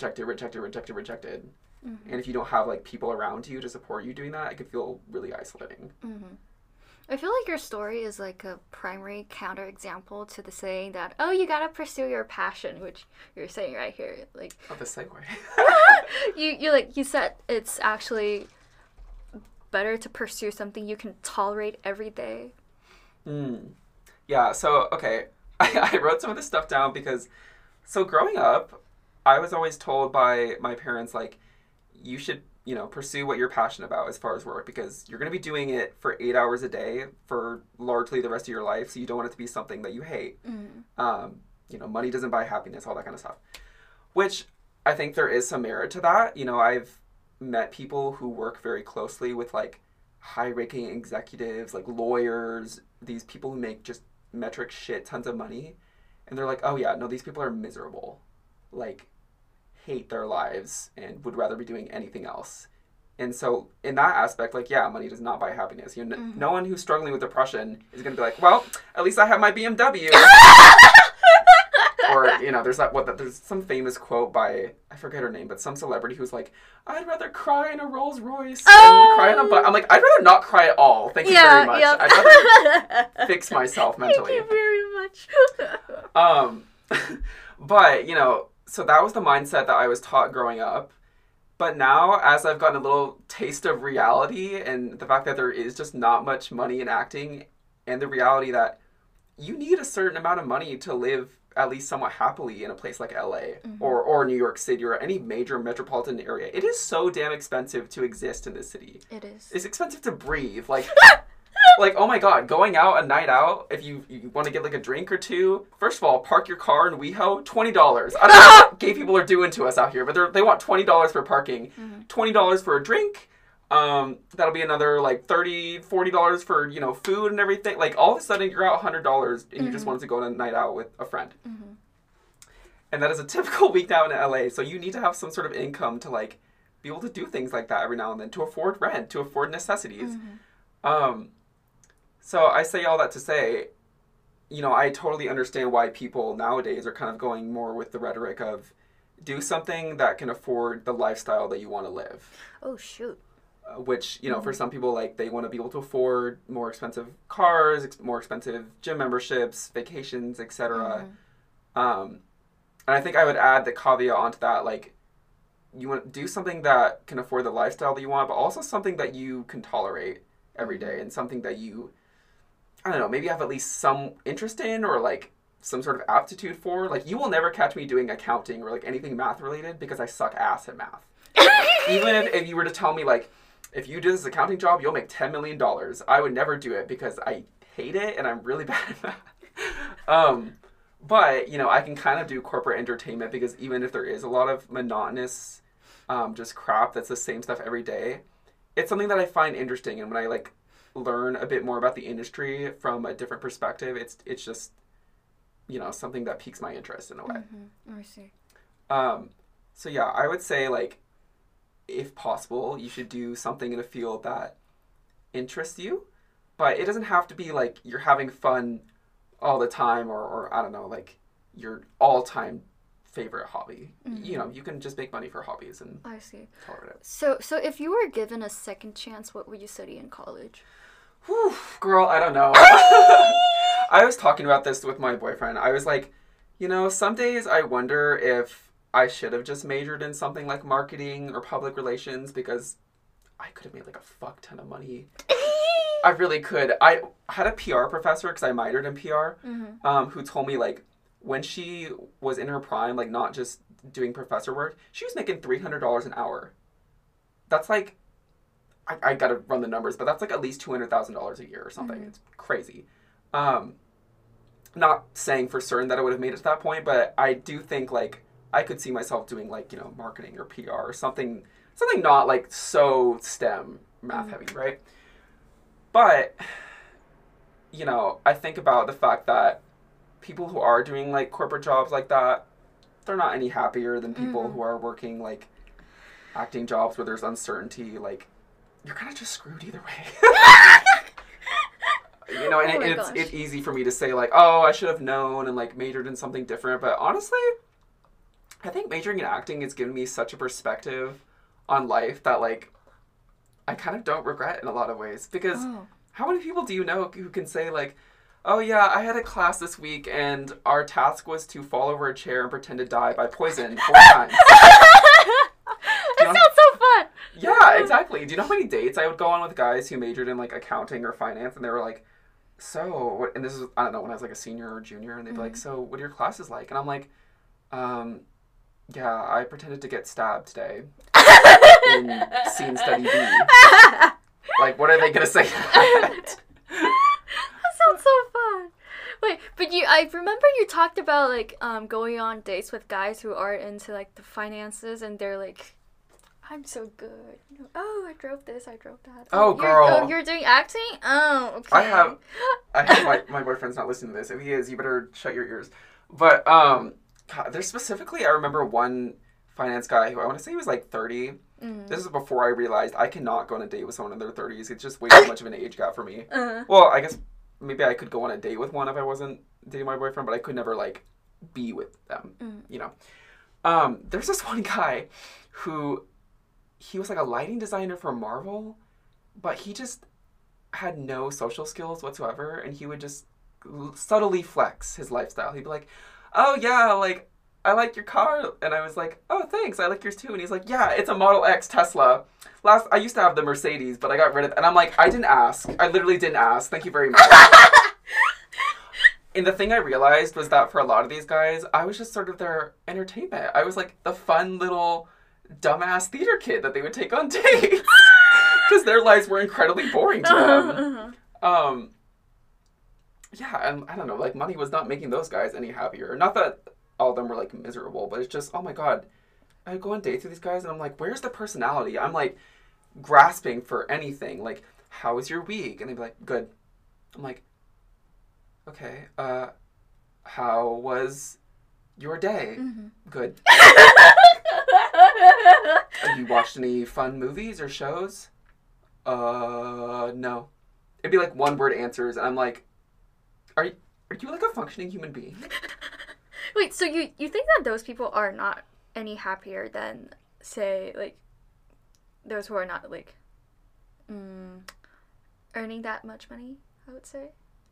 And if you don't have like people around you to support you doing that, it could feel really isolating. I feel like your story is like a primary counterexample to the saying that, oh, you gotta pursue your passion, which you're saying right here. Like, oh, the segue. you said it's actually better to pursue something you can tolerate every day. Yeah, so, okay, I wrote some of this stuff down because, so growing up, I was always told by my parents, like, you should, you know, pursue what you're passionate about as far as work, because you're going to be doing it for 8 hours a day for largely the rest of your life, so you don't want it to be something that you hate. You know, money doesn't buy happiness, all that kind of stuff. Which, I think there is some merit to that. You know, I've met people who work very closely with, like, high-ranking executives, like lawyers, these people who make just metric shit tons of money, and they're like, oh yeah, no, these people are miserable. Like, hate their lives and would rather be doing anything else. And so in that aspect, like, yeah, money does not buy happiness. You know, no one who's struggling with depression is going to be like, well, at least I have my BMW. Or, you know, there's some famous quote by, I forget her name, but some celebrity who's like, I'd rather cry in a Rolls Royce than cry in a bus. I'm like, I'd rather not cry at all. Thank you very much. Yep. I'd rather fix myself mentally. Thank you very much. But, you know, so that was the mindset that I was taught growing up. But now, as I've gotten a little taste of reality and the fact that there is just not much money in acting, and the reality that you need a certain amount of money to live at least somewhat happily in a place like LA or New York City or any major metropolitan area. It is so damn expensive to exist in this city. It is. It's expensive to breathe. Like, like, oh my god, going out a night out, if you want to get like a drink or two, first of all, park your car in WeHo, $20. I don't know what gay people are doing to us out here, but they want $20 for parking, $20 for a drink. That'll be another like $30, $40 for, you know, food and everything. Like, all of a sudden you're out $100 and you just wanted to go on a night out with a friend. And that is a typical week now in LA. So you need to have some sort of income to like be able to do things like that every now and then, to afford rent, to afford necessities. So I say all that to say, you know, I totally understand why people nowadays are kind of going more with the rhetoric of do something that can afford the lifestyle that you want to live. Oh, shoot. Which, you know, for some people, like, they want to be able to afford more expensive cars, more expensive gym memberships, vacations, etc. And I think I would add the caveat onto that, like, you want to do something that can afford the lifestyle that you want, but also something that you can tolerate every day, and something that you, I don't know, maybe have at least some interest in, or like some sort of aptitude for. Like, you will never catch me doing accounting or like anything math related, because I suck ass at math. Even if you were to tell me, like, if you do this accounting job, you'll make $10 million, I would never do it because I hate it and I'm really bad at math. But, you know, I can kind of do corporate entertainment, because even if there is a lot of monotonous just crap that's the same stuff every day, it's something that I find interesting. And when I like learn a bit more about the industry from a different perspective, it's just, you know, something that piques my interest in a way. I see. So yeah, I would say, like, if possible, you should do something in a field that interests you, but it doesn't have to be like you're having fun all the time, or I don't know, like your all-time favorite hobby. You know, you can just make money for hobbies and I see. tolerate it. So if you were given a second chance, what would you study in college? Whew, girl, I don't know. I was talking about this with my boyfriend. I was like, you know, some days I wonder if I should have just majored in something like marketing or public relations, because I could have made like a fuck ton of money. I really could. I had a PR professor, because I minored in PR, who told me, like, when she was in her prime, like, not just doing professor work, she was making $300 an hour. That's like, I gotta run the numbers, but that's like at least $200,000 a year or something. It's crazy. Not saying for certain that I would have made it to that point, but I do think, like, I could see myself doing, like, you know, marketing or PR or something not like so STEM math heavy, right? But, you know, I think about the fact that people who are doing, like, corporate jobs like that, they're not any happier than people who are working, like, acting jobs where there's uncertainty. Like, you're kind of just screwed either way. You know, and it's easy for me to say, like, oh, I should have known and, like, majored in something different. But honestly, I think majoring in acting has given me such a perspective on life that, like, I kind of don't regret in a lot of ways. Because how many people do you know who can say, like, oh, yeah, I had a class this week and our task was to fall over a chair and pretend to die by poison 4 times. That sounds so fun. Yeah, exactly. Do you know how many dates I would go on with guys who majored in, like, accounting or finance, and they were like, so, and this is, I don't know, when I was, like, a senior or junior, and they'd be like, so, what are your classes like? And I'm like, yeah, I pretended to get stabbed today in scene study B. Like, what are they going to say to that? That sounds so fun. Wait, but I remember you talked about, like, going on dates with guys who are into, like, the finances, and they're like, I'm so good. Oh, I drove this, I drove that. Oh, girl. You're doing acting? Oh, okay. I have my boyfriend's not listening to this. If he is, you better shut your ears. But, God, there's specifically, I remember one finance guy who I want to say he was, like, 30. This is before I realized I cannot go on a date with someone in their 30s. It's just way too much of an age gap for me. Well, I guess maybe I could go on a date with one if I wasn't dating my boyfriend, but I could never, like, be with them, you know. There's this one guy who, he was, like, a lighting designer for Marvel, but he just had no social skills whatsoever, and he would just subtly flex his lifestyle. He'd be like, oh, yeah, like, I like your car. And I was like, oh, thanks, I like yours too. And he's like, yeah, it's a Model X Tesla. I used to have the Mercedes, but I got rid of it. And I'm like, I didn't ask. I literally didn't ask. Thank you very much. And the thing I realized was that for a lot of these guys, I was just sort of their entertainment. I was like the fun little dumbass theater kid that they would take on dates. Because their lives were incredibly boring to them. Yeah, and I don't know, like, money was not making those guys any happier. Not that all of them were, like, miserable, but it's just, oh my god, I go on dates with these guys, and I'm like, where's the personality? I'm, like, grasping for anything. Like, how was your week? And they'd be like, good. I'm like, okay, how was your day? Good. Have you watched any fun movies or shows? No. It'd be, like, one-word answers, and I'm like, Are you like a functioning human being? Wait, so you think that those people are not any happier than, say, like, those who are not, like, earning that much money, I would say?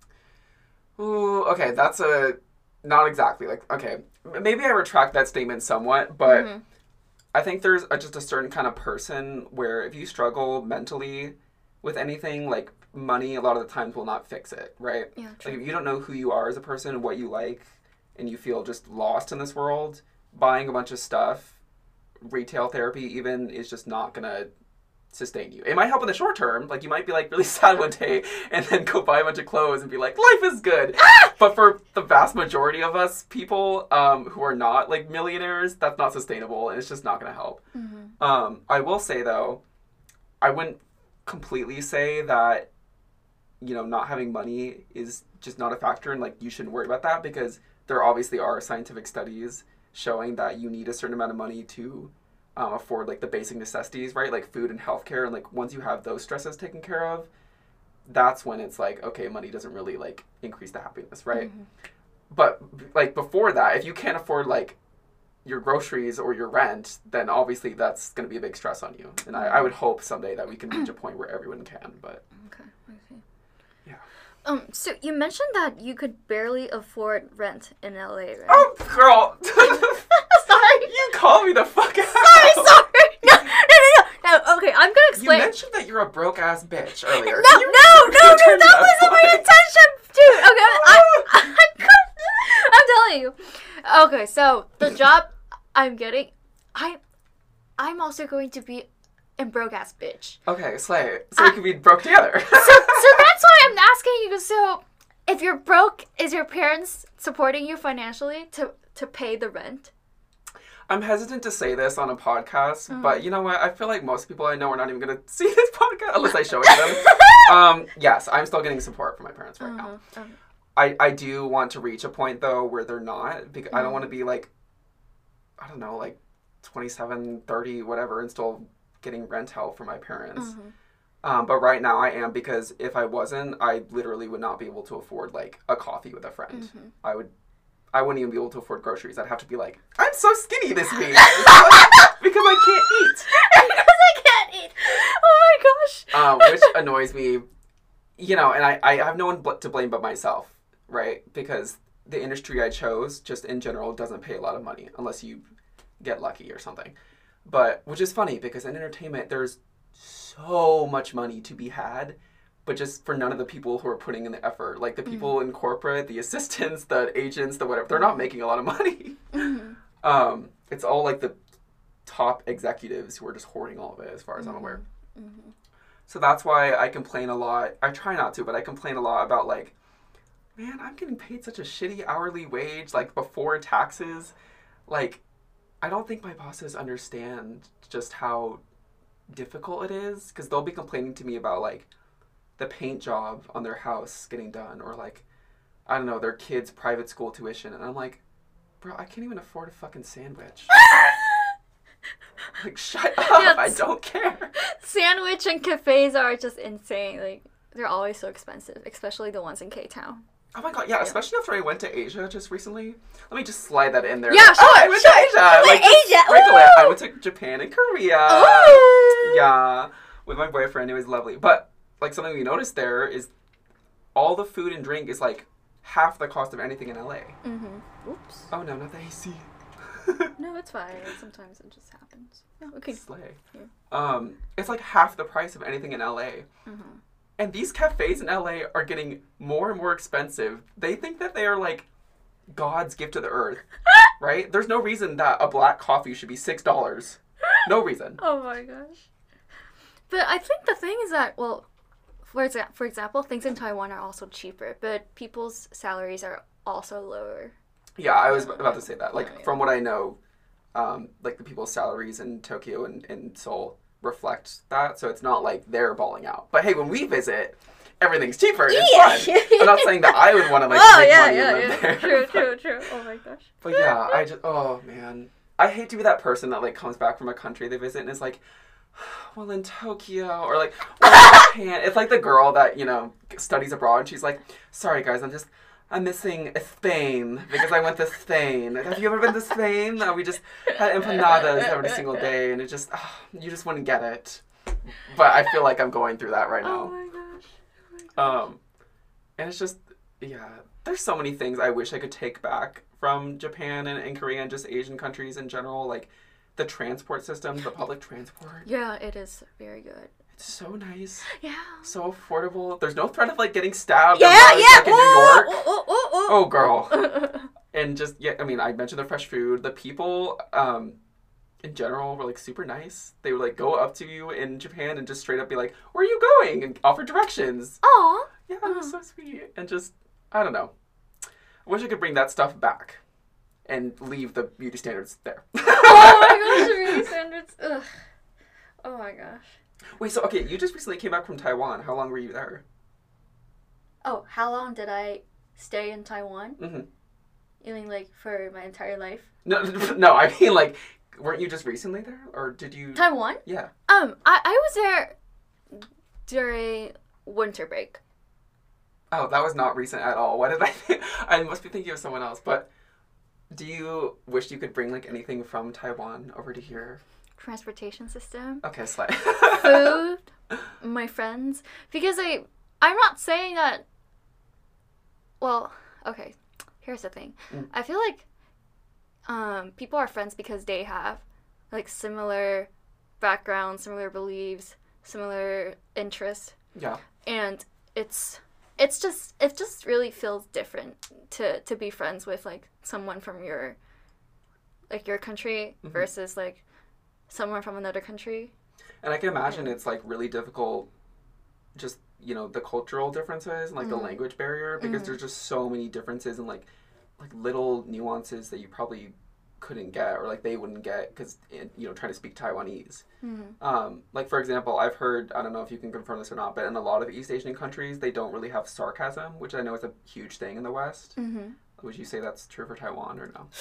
Ooh, okay, that's not exactly, like, okay, maybe I retract that statement somewhat, but I think there's just a certain kind of person where if you struggle mentally with anything, like, money a lot of the times will not fix it, right? Yeah, true. Like, if you don't know who you are as a person, what you like, and you feel just lost in this world, buying a bunch of stuff, retail therapy even, is just not gonna sustain you. It might help in the short term. Like, you might be, like, really sad one day and then go buy a bunch of clothes and be like, life is good. But for the vast majority of us people who are not, like, millionaires, that's not sustainable, and it's just not gonna help. I will say, though, I wouldn't completely say that, you know, not having money is just not a factor and, like, you shouldn't worry about that, because there obviously are scientific studies showing that you need a certain amount of money to afford, like, the basic necessities, right? Like food and healthcare. And, like, once you have those stresses taken care of, that's when it's like, okay, money doesn't really, like, increase the happiness, right? But, like, before that, if you can't afford, like, your groceries or your rent, then obviously that's going to be a big stress on you. And I would hope someday that we can reach a point where everyone can, but... Okay, I see. Yeah. So you mentioned that you could barely afford rent in LA, right? Oh, girl! Sorry! You call me the fuck out! Sorry! No, okay, I'm gonna explain. You mentioned that you're a broke-ass bitch earlier. No, that wasn't my intention, dude! Okay, I'm telling you. Okay, so, the job I'm getting, I'm also going to be a broke-ass bitch. Okay, slay. So we can be broke together. so that's why I'm asking you, so, if you're broke, is your parents supporting you financially to pay the rent? I'm hesitant to say this on a podcast, but you know what? I feel like most people I know are not even going to see this podcast unless I show it to them. Yes, I'm still getting support from my parents right now. I do want to reach a point, though, where they're not. Because I don't want to be, like, I don't know, like, 27, 30, whatever, and still getting rent help from my parents. But right now I am, because if I wasn't, I literally would not be able to afford, like, a coffee with a friend. I wouldn't even be able to afford groceries. I'd have to be like, I'm so skinny this week because I can't eat. Because I can't eat. Oh my gosh. Which annoys me, you know, and I have no one to blame but myself, right? Because the industry I chose, just in general, doesn't pay a lot of money unless you get lucky or something. But, which is funny, because in entertainment, there's so much money to be had, but just for none of the people who are putting in the effort. Like, the people in corporate, the assistants, the agents, the whatever, they're not making a lot of money. It's all, like, the top executives who are just hoarding all of it, as far as I'm aware. So that's why I complain a lot. I try not to, but I complain a lot about, like, man, I'm getting paid such a shitty hourly wage, like, before taxes. Like, I don't think my bosses understand just how difficult it is, because they'll be complaining to me about, like, the paint job on their house getting done, or, like, I don't know, their kids' private school tuition, and I'm like, bro, I can't even afford a fucking sandwich. Like, shut up, I don't care. Sandwich and cafes are just insane. Like, they're always so expensive, especially the ones in K-Town. Oh my god, yeah, especially after I went to Asia just recently. Let me just slide that in there. Yeah, sure, I went to Asia. Like, Asia. Sprinkle it. I went to Japan and Korea. Ooh. Yeah, with my boyfriend. It was lovely. But, like, something we noticed there is all the food and drink is, like, half the cost of anything in LA. Oops. Oh, no, not the AC. No, it's fine. Sometimes it just happens. No, okay. Slay. Yeah. It's, like, half the price of anything in LA. And these cafes in LA are getting more and more expensive. They think that they are, like, God's gift to the earth, right? There's no reason that a black coffee should be $6. No reason. Oh my gosh. But I think the thing is that, well, for example, things in Taiwan are also cheaper, but people's salaries are also lower. Yeah, I was about to say that. Like, from what I know, like, the people's salaries in Tokyo and Seoul reflect that, so it's not like they're balling out. But hey, when we visit, everything's cheaper. It's fun. I'm not saying that I would want to, like, make money and live there. True. Oh my gosh. But yeah, oh man, I hate to be that person that, like, comes back from a country they visit and is like, well, in Tokyo, or like, well, in Japan. It's like the girl that, you know, studies abroad and she's like, sorry guys, I'm missing Spain because I went to Spain. Have you ever been to Spain? We just had empanadas every single day, and it just, you just wouldn't get it. But I feel like I'm going through that right now. Oh my gosh. And it's just, yeah, there's so many things I wish I could take back from Japan and Korea and just Asian countries in general, like the transport system, the public transport. Yeah, it is very good. It's so nice. Yeah. So affordable. There's no threat of, like, getting stabbed. Yeah. Like in New York. Oh, girl. And just, yeah, I mean, I mentioned the fresh food. The people, in general, were, like, super nice. They would, like, go up to you in Japan and just straight up be like, where are you going? And offer directions. Aw. Yeah, it was so sweet. And just, I don't know. I wish I could bring that stuff back and leave the beauty standards there. Oh my gosh, the beauty standards. Ugh. Oh my gosh. Wait, so, okay, you just recently came back from Taiwan. How long were you there? Oh, how long did I stay in Taiwan? You mean, like, for my entire life? No, I mean, like, weren't you just recently there? Or did you... Taiwan? Yeah. I was there during winter break. Oh, that was not recent at all. What did I think? I must be thinking of someone else. But do you wish you could bring, like, anything from Taiwan over to here? Transportation system. Okay, slay. Food. My friends. Because I'm not saying that... Well, okay. Here's the thing. I feel like people are friends because they have, like, similar backgrounds, similar beliefs, similar interests. Yeah. And it just really feels different to be friends with, like, someone from your country versus, like, someone from another country. And I can imagine it's, like, really difficult, just, you know, the cultural differences and, like, the language barrier, because there's just so many differences and, like little nuances that you probably couldn't get, or like they wouldn't get because trying to speak Taiwanese. Like for example, I've heard, I don't know if you can confirm this or not, but in a lot of East Asian countries they don't really have sarcasm, which I know is a huge thing in the West. Would you say that's true for Taiwan or no?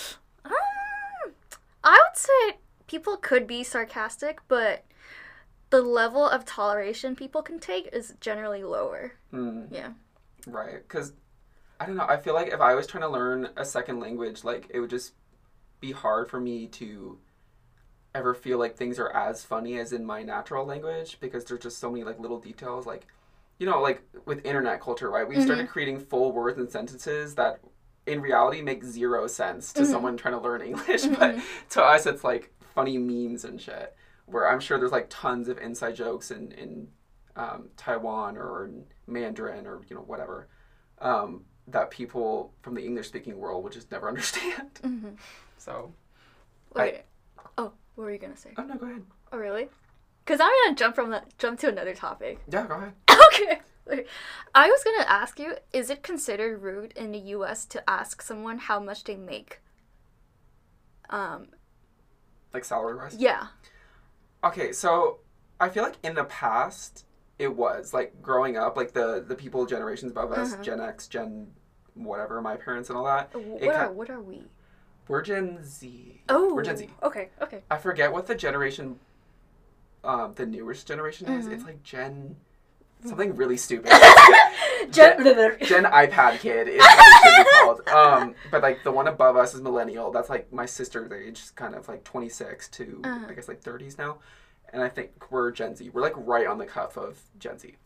I would say people could be sarcastic, but the level of toleration people can take is generally lower. Yeah. Right, because I don't know, I feel like if I was trying to learn a second language, like it would just be hard for me to ever feel like things are as funny as in my natural language, because there's just so many like little details, like like with internet culture, right? We've started creating full words and sentences that in reality make zero sense to someone trying to learn English, but to us it's like funny memes and shit, where I'm sure there's like tons of inside jokes in Taiwan or in Mandarin or whatever, that people from the English speaking world would just never understand. So wait, what were you gonna say? Oh no, go ahead. Oh really? Because I'm gonna jump to another topic. Yeah, go ahead. Okay. Wait. I was gonna ask you, is it considered rude in the U.S. to ask someone how much they make? Like salary-wise? Yeah. Okay, so I feel like in the past it was like growing up, like the people generations above us, Gen X, Gen whatever, my parents and all that. What are we? We're Gen Z. Oh, we're Gen Z. Okay. I forget what the generation, the newest generation is. It's like Gen something really stupid. Gen iPad kid is what it should be called. But like the one above us is millennial. That's like my sister's age, kind of like 26 to I guess like 30s now. And I think we're Gen Z. We're like right on the cuff of Gen Z.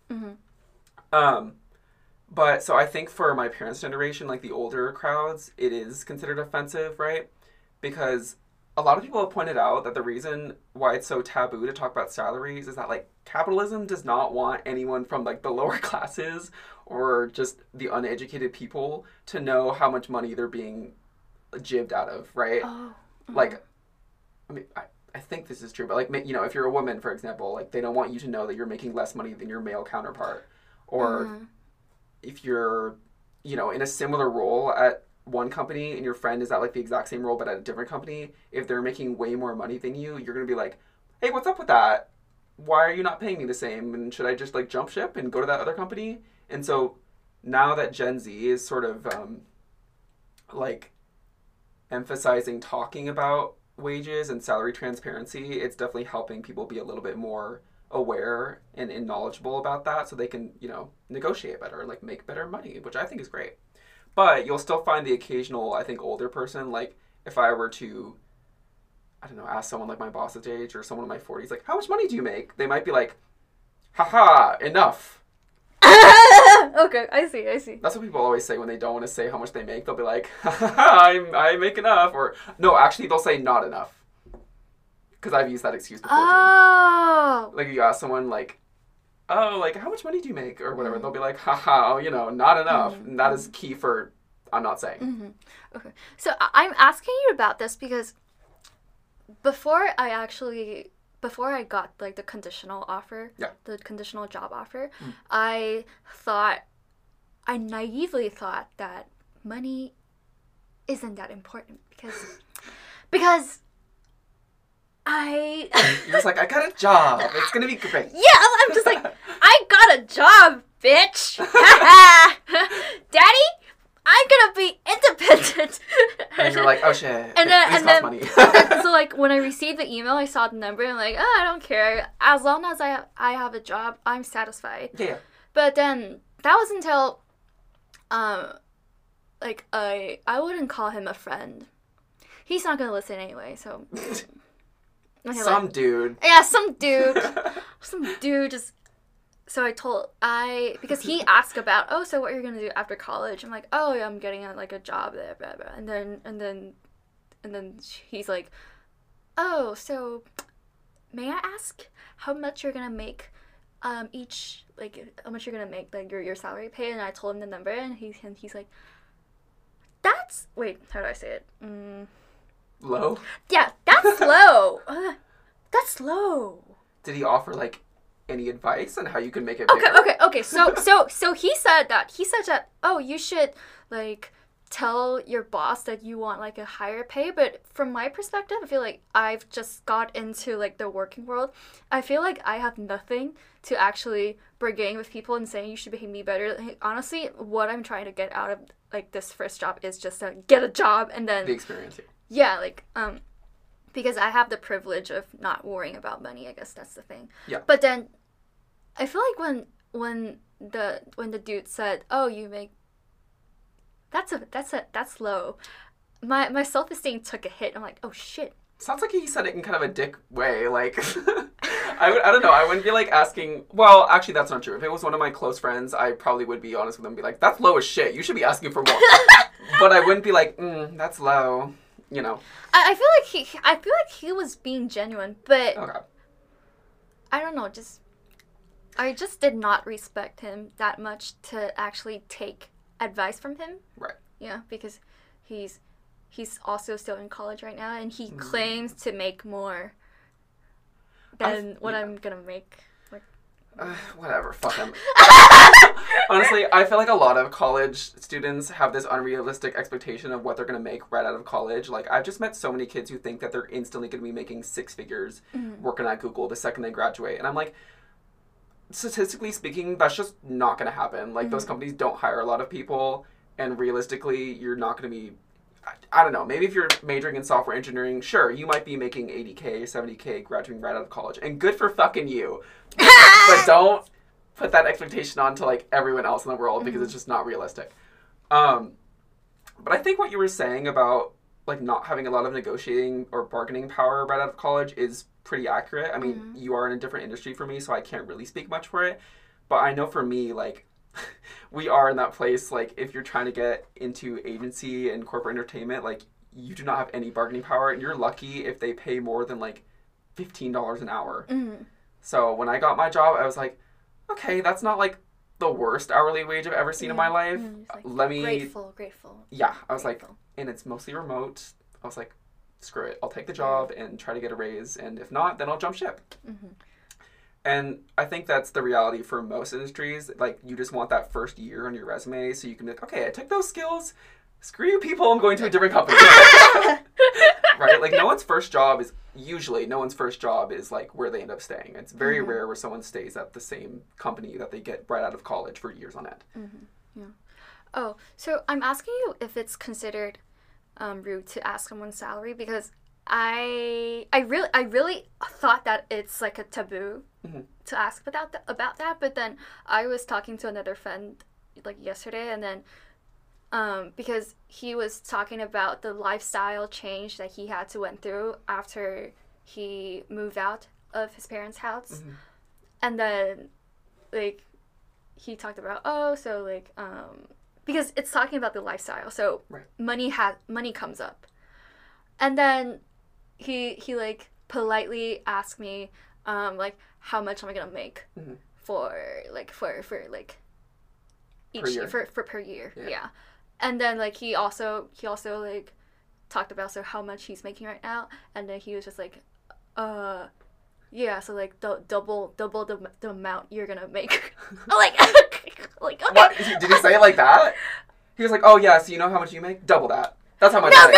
But so I think for my parents' generation, like the older crowds, it is considered offensive, right? Because a lot of people have pointed out that the reason why it's so taboo to talk about salaries is that like capitalism does not want anyone from like the lower classes or just the uneducated people to know how much money they're being jibbed out of, right? Like, I mean, I think this is true, but like, if you're a woman, for example, like they don't want you to know that you're making less money than your male counterpart. Or if you're, in a similar role at one company and your friend is at like the exact same role but at a different company, if they're making way more money than you, you're going to be like, hey, what's up with that? Why are you not paying me the same? And should I just like jump ship and go to that other company? And so now that Gen Z is sort of like emphasizing talking about wages and salary transparency, it's definitely helping people be a little bit more aware and knowledgeable about that, so they can negotiate better and like make better money, which I think is great. But you'll still find the occasional, I think, older person, like if I were to, I don't know, ask someone like my boss's age or someone in my 40s, like, how much money do you make? They might be like, haha, enough. Okay, I see. That's what people always say when they don't want to say how much they make. They'll be like, I make enough. Or, no, actually, they'll say not enough. Because I've used that excuse before, too. Like, you ask someone, like, oh, like, how much money do you make? Or whatever. They'll be like, haha, not enough. And that is key for, I'm not saying. Okay. So I'm asking you about this because before I got, like, the conditional offer, the conditional job offer, I naively thought that money isn't that important because You're just like, I got a job. It's going to be great. Yeah, I'm just like, I got a job, bitch. Daddy, I'm going to be independent. And you're like, oh shit. And then money. So like when I received the email, I saw the number and I'm like, I don't care. As long as I have a job, I'm satisfied. Yeah. But then that was until like I wouldn't call him a friend. He's not going to listen anyway, so okay, some dude. Yeah, some dude. Some dude just... So because he asked about, so what you're going to do after college? I'm like, yeah, I'm getting a job there, blah, blah. And then he's like, so may I ask how much you're going to make each, like, how much you're going to make, like, your salary pay? And I told him the number, and he's like, wait, how do I say it? Low? Yeah, that's low. That's low. Did he offer, like, any advice on how you can make it bigger? Okay. So he said that, you should, like, tell your boss that you want like a higher pay, but from my perspective, I feel like I've just got into like the working world. I feel like I have nothing to actually bargain with people and saying you should pay me better. Like, honestly, what I'm trying to get out of like this first job is just to get a job and then the experience. Yeah, like because I have the privilege of not worrying about money. I guess that's the thing. Yeah. But then I feel like when the dude said, "Oh, you make that's low," my self-esteem took a hit. I'm like, "Oh shit." Sounds like he said it in kind of a dick way. Like, I don't know. I wouldn't be like asking. Well, actually, that's not true. If it was one of my close friends, I probably would be honest with them and be like, "That's low as shit. You should be asking for more." But I wouldn't be like, "That's low." You know. I feel like he was being genuine, but okay. I don't know. I just did not respect him that much to actually take advice from him. Right. Yeah, because he's also still in college right now, and he claims to make more than what I'm gonna make. Like, whatever, fuck him. Honestly, I feel like a lot of college students have this unrealistic expectation of what they're gonna make right out of college. Like, I've just met so many kids who think that they're instantly gonna be making six figures working at Google the second they graduate, and I'm like, statistically speaking, that's just not going to happen. Like, those companies don't hire a lot of people, and realistically, you're not going to be, I don't know, maybe if you're majoring in software engineering, sure, you might be making 80K, 70K graduating right out of college, and good for fucking you. But don't put that expectation on to, like, everyone else in the world, because it's just not realistic. But I think what you were saying about, like, not having a lot of negotiating or bargaining power right out of college is pretty accurate. I mean, you are in a different industry for me, so I can't really speak much for it. But I know for me, like, we are in that place, like, if you're trying to get into agency and corporate entertainment, like, you do not have any bargaining power, and you're lucky if they pay more than, like, $15 an hour. So when I got my job, I was like, okay, that's not, like, the worst hourly wage I've ever seen in my life. Like, Let me... Grateful. Yeah, I was like, and it's mostly remote. I was like, screw it. I'll take the job and try to get a raise, and if not, then I'll jump ship. And I think that's the reality for most industries. Like, you just want that first year on your resume so you can be like, okay, I took those skills. Screw you people, I'm going to a different company. Right? Like, no one's first job is like where they end up staying. It's very rare where someone stays at the same company that they get right out of college for years on end. Yeah. Oh, so I'm asking you if it's considered rude to ask someone's salary, because I really thought that it's like a taboo to ask about that, but then I was talking to another friend like yesterday, and then because he was talking about the lifestyle change that he had to went through after he moved out of his parents' house, and then like he talked about because it's talking about the lifestyle, so money comes up, and then he like politely asked me like how much am I gonna make for each year for per year, and then like he also like talked about how much he's making right now, and then he was just like yeah, so like double the amount you're gonna make. like okay. What? Did he say it like that? He was like, oh yeah, so you know how much you make? Double that. That's how much No.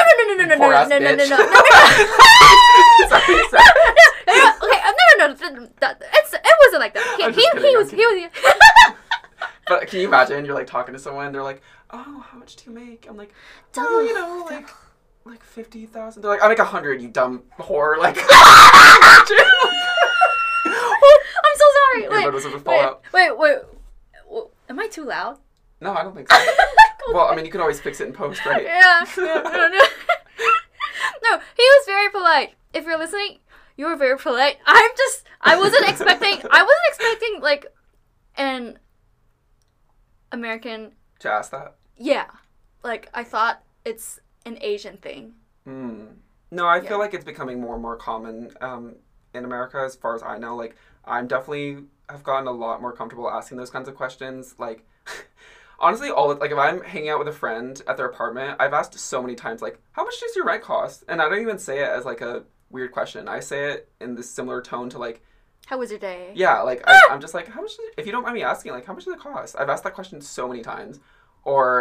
It wasn't like that. He was. But can you imagine? You're like talking to someone. They're like, oh, how much do you make? I'm like, oh, you know, like 50,000. They're like, I make 100. You dumb whore. Like, I'm so sorry. Wait. Am I too loud? No, I don't think so. Well, I mean, you can always fix it in post, right? Yeah. No, he was very polite. If you're listening, you were very polite. I wasn't expecting like an American to ask that. Yeah, like I thought it's an Asian thing. No, I feel like it's becoming more and more common in America, as far as I know. Like, I'm definitely have gotten a lot more comfortable asking those kinds of questions. Like, honestly, if I'm hanging out with a friend at their apartment, I've asked so many times, like, how much does your rent cost? And I don't even say it as like a weird question. I say it in this similar tone to like, how was your day? Yeah, like I'm just like, how much? If you don't mind me asking, like, how much does it cost? I've asked that question so many times. Or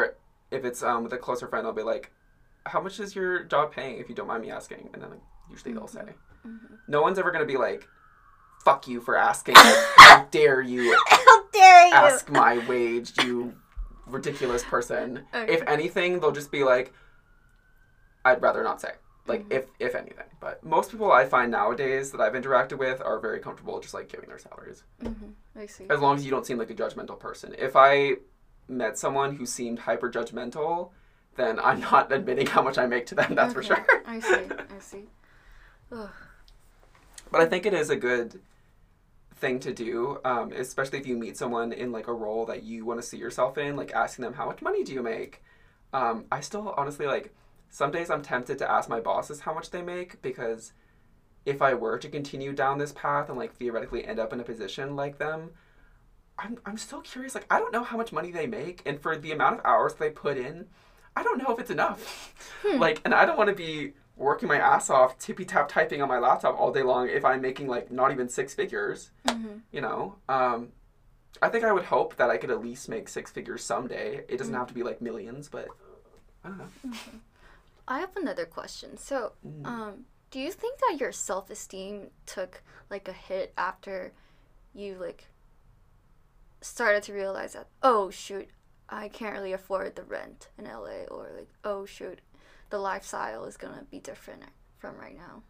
if it's with a closer friend, I'll be like, how much is your job paying, if you don't mind me asking? And then like, usually they'll say. No one's ever going to be like, fuck you for asking. Like, how dare you ask my wage, you ridiculous person. Okay. If anything, they'll just be like, I'd rather not say. Like, if anything. But most people I find nowadays that I've interacted with are very comfortable just, like, giving their salaries. I see. As long as you don't seem like a judgmental person. If I met someone who seemed hyper-judgmental, then I'm not admitting how much I make to them, that's for sure. I see. Ugh. But I think it is a good thing to do, especially if you meet someone in, like, a role that you want to see yourself in, like, asking them, how much money do you make? I still, honestly, like... Some days I'm tempted to ask my bosses how much they make, because if I were to continue down this path and like theoretically end up in a position like them, I'm still curious. Like, I don't know how much money they make, and for the amount of hours they put in, I don't know if it's enough. Like, and I don't want to be working my ass off, tippy-tap typing on my laptop all day long if I'm making like not even six figures, you know? I think I would hope that I could at least make six figures someday. It doesn't have to be like millions, but I don't know. I have another question. So, do you think that your self-esteem took, like, a hit after you, like, started to realize that, oh, shoot, I can't really afford the rent in LA, or, like, oh, shoot, the lifestyle is gonna be different from right now?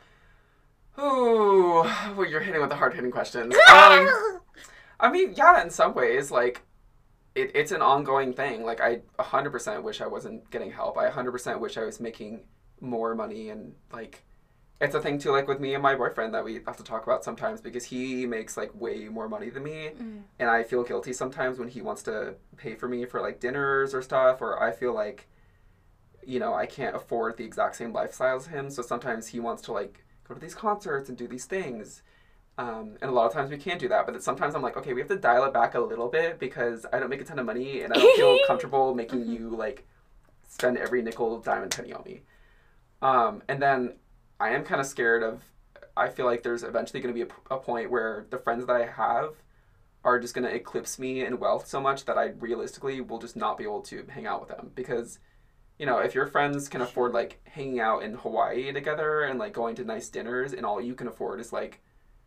Oh, well, you're hitting with the hard-hitting questions. I mean, yeah, in some ways, like, it's an ongoing thing. Like, I 100% wish I wasn't getting help. I 100% wish I was making more money. And, like, it's a thing, too, like, with me and my boyfriend that we have to talk about sometimes, because he makes, like, way more money than me. And I feel guilty sometimes when he wants to pay for me for, like, dinners or stuff, or I feel like, you know, I can't afford the exact same lifestyle as him. So sometimes he wants to, like, go to these concerts and do these things. And a lot of times we can't do that, but sometimes I'm like, okay, we have to dial it back a little bit, because I don't make a ton of money, and I don't feel comfortable making you, like, spend every nickel, dime, and penny on me. And then I am kind of scared of, I feel like there's eventually going to be a point where the friends that I have are just going to eclipse me in wealth so much that I realistically will just not be able to hang out with them. Because, you know, if your friends can afford, like, hanging out in Hawaii together and, like, going to nice dinners, and all you can afford is, like,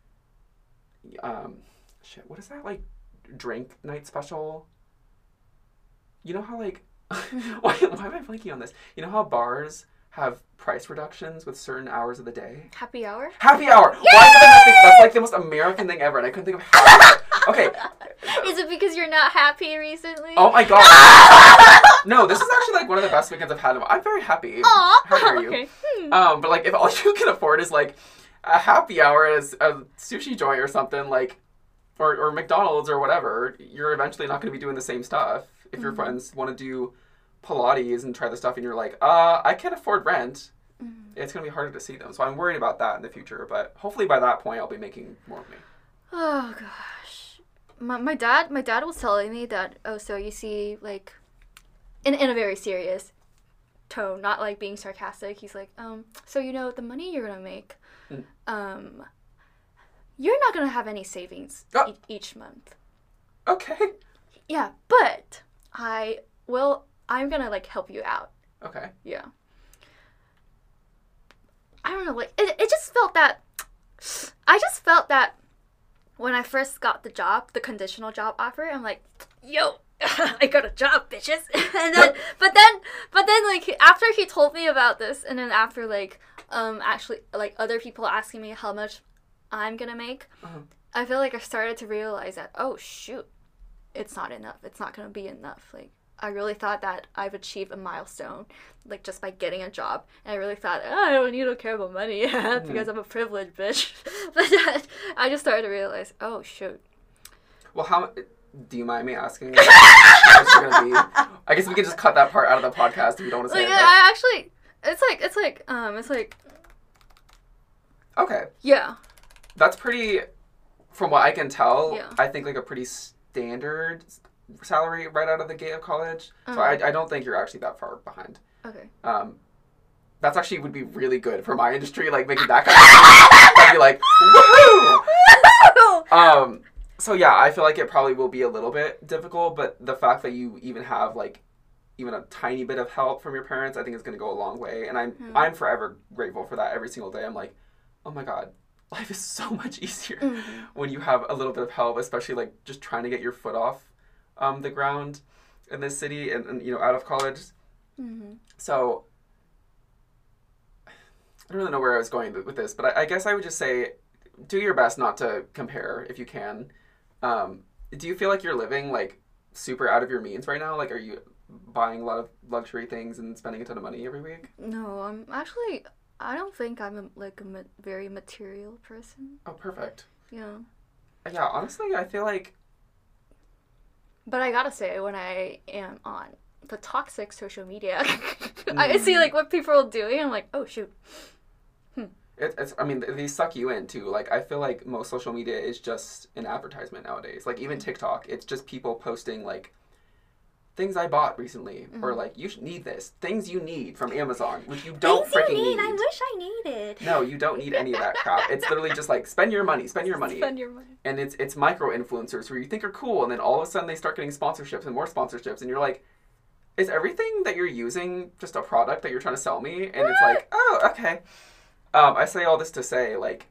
what is that, like, drink night special? You know how, like, why am I blanking on this? You know how bars have price reductions with certain hours of the day? Happy hour? Happy hour! Why did I not think that's, like, the most American thing ever, and I couldn't think of happy hour. Okay. Is it because you're not happy recently? Oh my god. No, this is actually, like, one of the best weekends I've had. I'm very happy. Aww. How dare you? Okay. But, like, if all you can afford is, like, a happy hour at a sushi joint or something, like, or McDonald's or whatever, you're eventually not going to be doing the same stuff. If your friends want to do Pilates and try the stuff and you're like, I can't afford rent, it's going to be harder to see them. So I'm worried about that in the future, but hopefully by that point I'll be making more money. Oh, gosh. My dad was telling me that, oh, so you see, like, in a very serious tone, not, like, being sarcastic, he's like, so, you know, the money you're going to make, you're not going to have any savings each month. Okay. Yeah, but I'm going to, like, help you out. Okay. Yeah. I don't know, like, it just felt that, I just felt that when I first got the job, the conditional job offer, I'm like, yo, I got a job, bitches. And then, but then, like, after he told me about this, and then after, like, actually, like, other people asking me how much I'm gonna make, I feel like I started to realize that, oh, shoot, it's not enough. It's not gonna be enough. Like, I really thought that I've achieved a milestone, like, just by getting a job. And I really thought, oh, I don't care about money because I'm a privileged bitch. But then I just started to realize, oh, shoot. Well, how... Do you mind me asking? Like, what's it gonna be? I guess we can just cut that part out of the podcast if you don't want to say like, it. But... I actually, it's like. Okay. Yeah. That's pretty. From what I can tell, yeah. I think like a pretty standard salary right out of the gate of college. So I don't think you're actually that far behind. Okay. That's actually would be really good for my industry, like making that kind of. I'd be like, woohoo! So yeah, I feel like it probably will be a little bit difficult, but the fact that you even have like even a tiny bit of help from your parents, I think is going to go a long way. And I'm forever grateful for that every single day. I'm like, oh my God, life is so much easier when you have a little bit of help, especially like just trying to get your foot off the ground in this city and you know, out of college. So I don't really know where I was going with this, but I guess I would just say do your best not to compare if you can. Do you feel like you're living like super out of your means right now? Like, are you buying a lot of luxury things and spending a ton of money every week? No, I don't think I'm very material person. Oh, perfect. Yeah. Yeah, honestly, I feel like... But I gotta say, when I am on the toxic social media, I see like what people are doing, I'm like, oh shoot. I mean, these suck you in too. Like, I feel like most social media is just an advertisement nowadays. Like, even TikTok, it's just people posting like things I bought recently, or like, you should need this, things you need from Amazon, which you don't freaking need. I wish I needed. No, you don't need any of that crap. It's literally just like, spend your money. Spend your money. And it's micro influencers who you think are cool, and then all of a sudden they start getting sponsorships and more sponsorships, and you're like, is everything that you're using just a product that you're trying to sell me? And it's like, oh, okay. I say all this to say, like,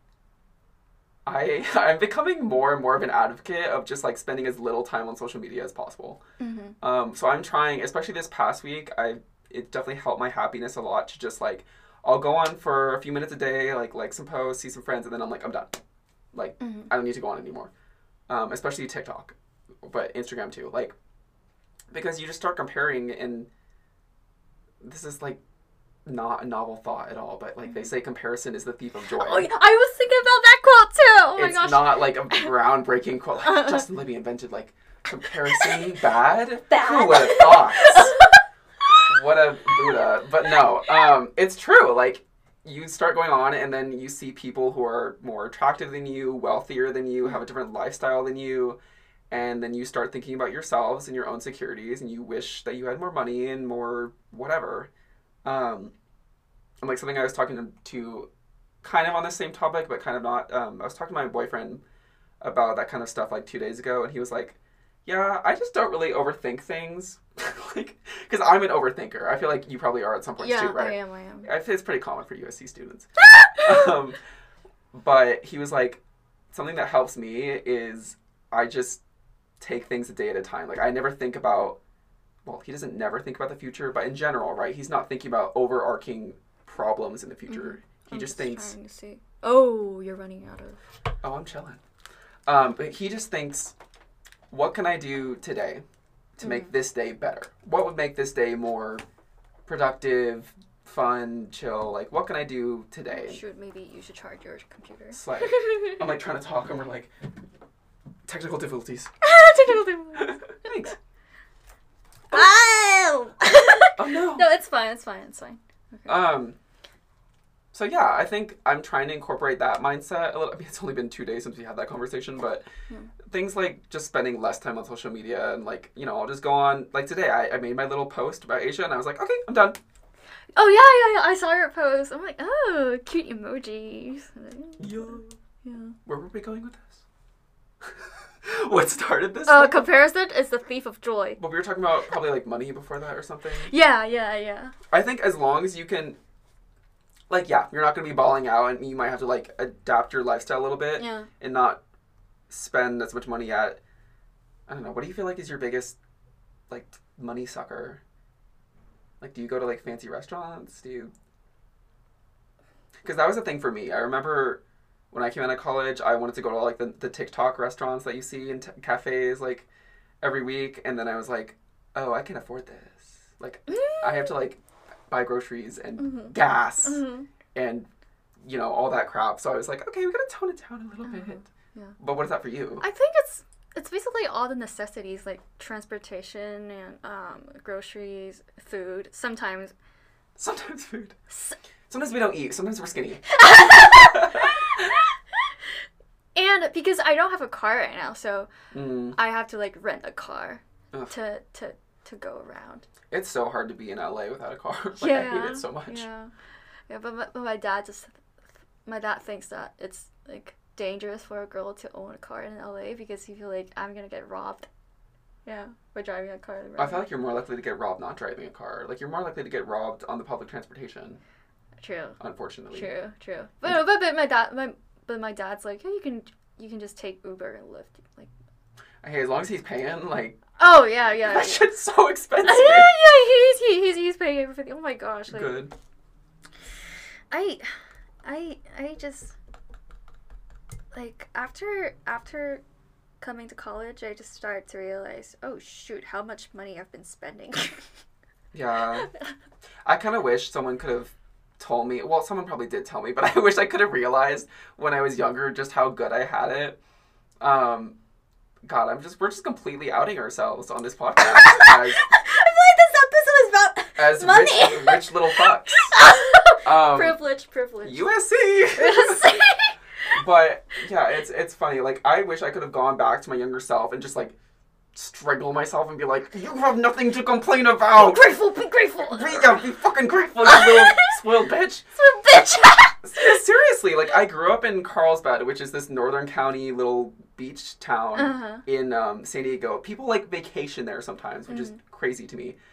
I'm becoming more and more of an advocate of just, like, spending as little time on social media as possible. So I'm trying, especially this past week, it definitely helped my happiness a lot to just, like, I'll go on for a few minutes a day, like some posts, see some friends, and then I'm like, I'm done. Like, I don't need to go on anymore. Especially TikTok, but Instagram too. Like, because you just start comparing, and this is, like, not a novel thought at all, but like they say comparison is the thief of joy. Oh, yeah. I was thinking about that quote too. Oh my gosh. It's not like a groundbreaking quote. Like Justin Libby invented like comparison bad. Who would have thought? What a Buddha. But no, it's true. Like you start going on and then you see people who are more attractive than you, wealthier than you, have a different lifestyle than you. And then you start thinking about yourselves and your own securities, and you wish that you had more money and more whatever. And like something I was talking to kind of on the same topic, but kind of not. I was talking to my boyfriend about that kind of stuff like 2 days ago, and he was like, yeah, I just don't really overthink things. Like, because I'm an overthinker. I feel like you probably are at some points too, right? Yeah, I am. It's pretty common for USC students. But he was like, something that helps me is I just take things a day at a time. Like, I never think about, well, he doesn't never think about the future, but in general, right? He's not thinking about overarching problems in the future. He just thinks... Trying to see. Oh, you're running out of... Oh, I'm chilling. But he just thinks, what can I do today to make this day better? What would make this day more productive, fun, chill? Like, what can I do today? Maybe you should charge your computer. It's like, I'm like trying to talk, and we're like, technical difficulties. Technical difficulties. Thanks. Oh! Oh no. No, it's fine. Okay. So yeah, I think I'm trying to incorporate that mindset a little. I mean, it's only been 2 days since we had that conversation, but things like just spending less time on social media and like, you know, I'll just go on, like today I made my little post about Asia and I was like, okay, I'm done. Oh yeah, I saw your post. I'm like, oh, cute emojis. Yeah. Where were we going with this? What started this? Comparison is the thief of joy. But we were talking about probably like money before that or something. Yeah. I think as long as you can, like, yeah, you're not going to be balling out and you might have to like adapt your lifestyle a little bit and not spend as much money at, I don't know, what do you feel like is your biggest like money sucker? Like, do you go to like fancy restaurants? Because that was a thing for me. I remember when I came out of college, I wanted to go to like the TikTok restaurants that you see in cafes like every week. And then I was like, oh, I can afford this. Like, I have to like buy groceries and gas and, you know, all that crap. So I was like, okay, we got to tone it down a little bit. Yeah. But what is that for you? I think it's basically all the necessities like transportation and groceries, food. Sometimes food. Sometimes we don't eat. Sometimes we're skinny. And because I don't have a car right now, so I have to like rent a car to go around. It's so hard to be in LA without a car. Like, I hate it so much. Yeah, but my dad thinks that it's like dangerous for a girl to own a car in LA because he feels like I'm gonna get robbed. Yeah, by driving a car. I feel like you're more likely to get robbed not driving a car. Like, you're more likely to get robbed on the public transportation. True. Unfortunately. True. But my dad's like, hey, you can just take Uber and Lyft. Like, hey, as long as he's paying, like. Oh yeah. That shit's so expensive. Yeah. He's paying everything. Oh my gosh. Like, good. I just like after coming to college, I just started to realize, oh shoot, how much money I've been spending. Yeah. I kind of wish someone could have told me, well, someone probably did tell me, but I wish I could have realized when I was younger just how good I had it. God, we're just completely outing ourselves on this podcast. I feel like this episode is about as money. Rich little fucks. Privilege. USC. But yeah, it's funny. Like, I wish I could have gone back to my younger self and just like strangle myself and be like, you have nothing to complain about. Be grateful. Be fucking grateful, you little spoiled bitch. Seriously, like, I grew up in Carlsbad, which is this northern county little beach town in San Diego. People like vacation there sometimes, which is crazy to me.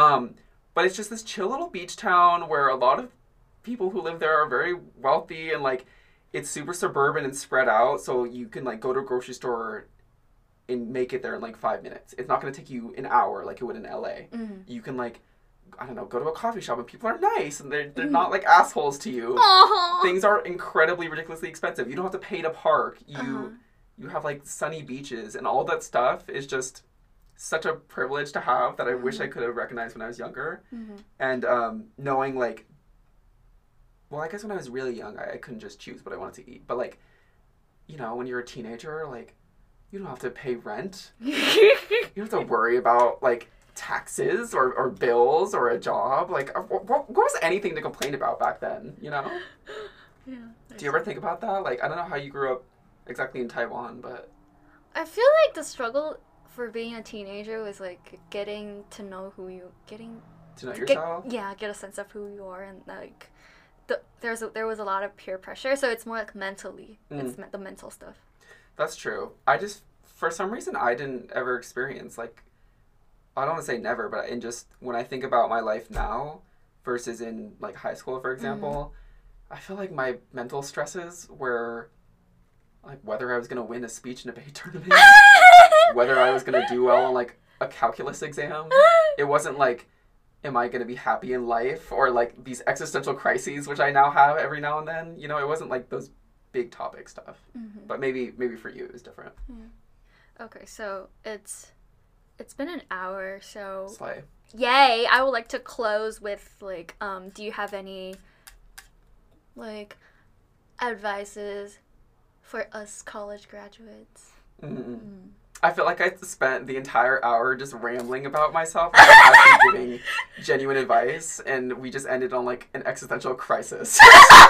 But it's just this chill little beach town where a lot of people who live there are very wealthy, and like, it's super suburban and spread out, so you can like go to a grocery store and make it there in like 5 minutes. It's not going to take you an hour like it would in LA. You can like, I don't know, go to a coffee shop and people are nice and they're not like assholes to you. Things are incredibly ridiculously expensive. You don't have to pay to park. You have like sunny beaches, and all that stuff is just such a privilege to have that I wish I could have recognized when I was younger. And knowing like, well, I guess when I was really young, I couldn't just choose what I wanted to eat. But like, you know, when you're a teenager, like, you don't have to pay rent. You don't have to worry about like taxes or bills or a job. Like, what was anything to complain about back then, you know? Yeah. Do you ever think about that? Like, I don't know how you grew up exactly in Taiwan, but I feel like the struggle for being a teenager was like getting to know yourself. Get a sense of who you are, and like there was a lot of peer pressure, so it's more like mentally. It's the mental stuff. That's true. For some reason, I didn't ever experience, like, I don't want to say never, but in just, when I think about my life now versus in, like, high school, for example, I feel like my mental stresses were, like, whether I was going to win a speech and debate tournament, whether I was going to do well on, like, a calculus exam. It wasn't, like, am I going to be happy in life, or, like, these existential crises, which I now have every now and then. You know, it wasn't, like, those big topic stuff. But maybe for you it was different. Okay, so it's been an hour, so Slay. Yay! I would like to close with like, do you have any like advices for us college graduates? I feel like I spent the entire hour just rambling about myself without actually giving genuine advice, and we just ended on like an existential crisis.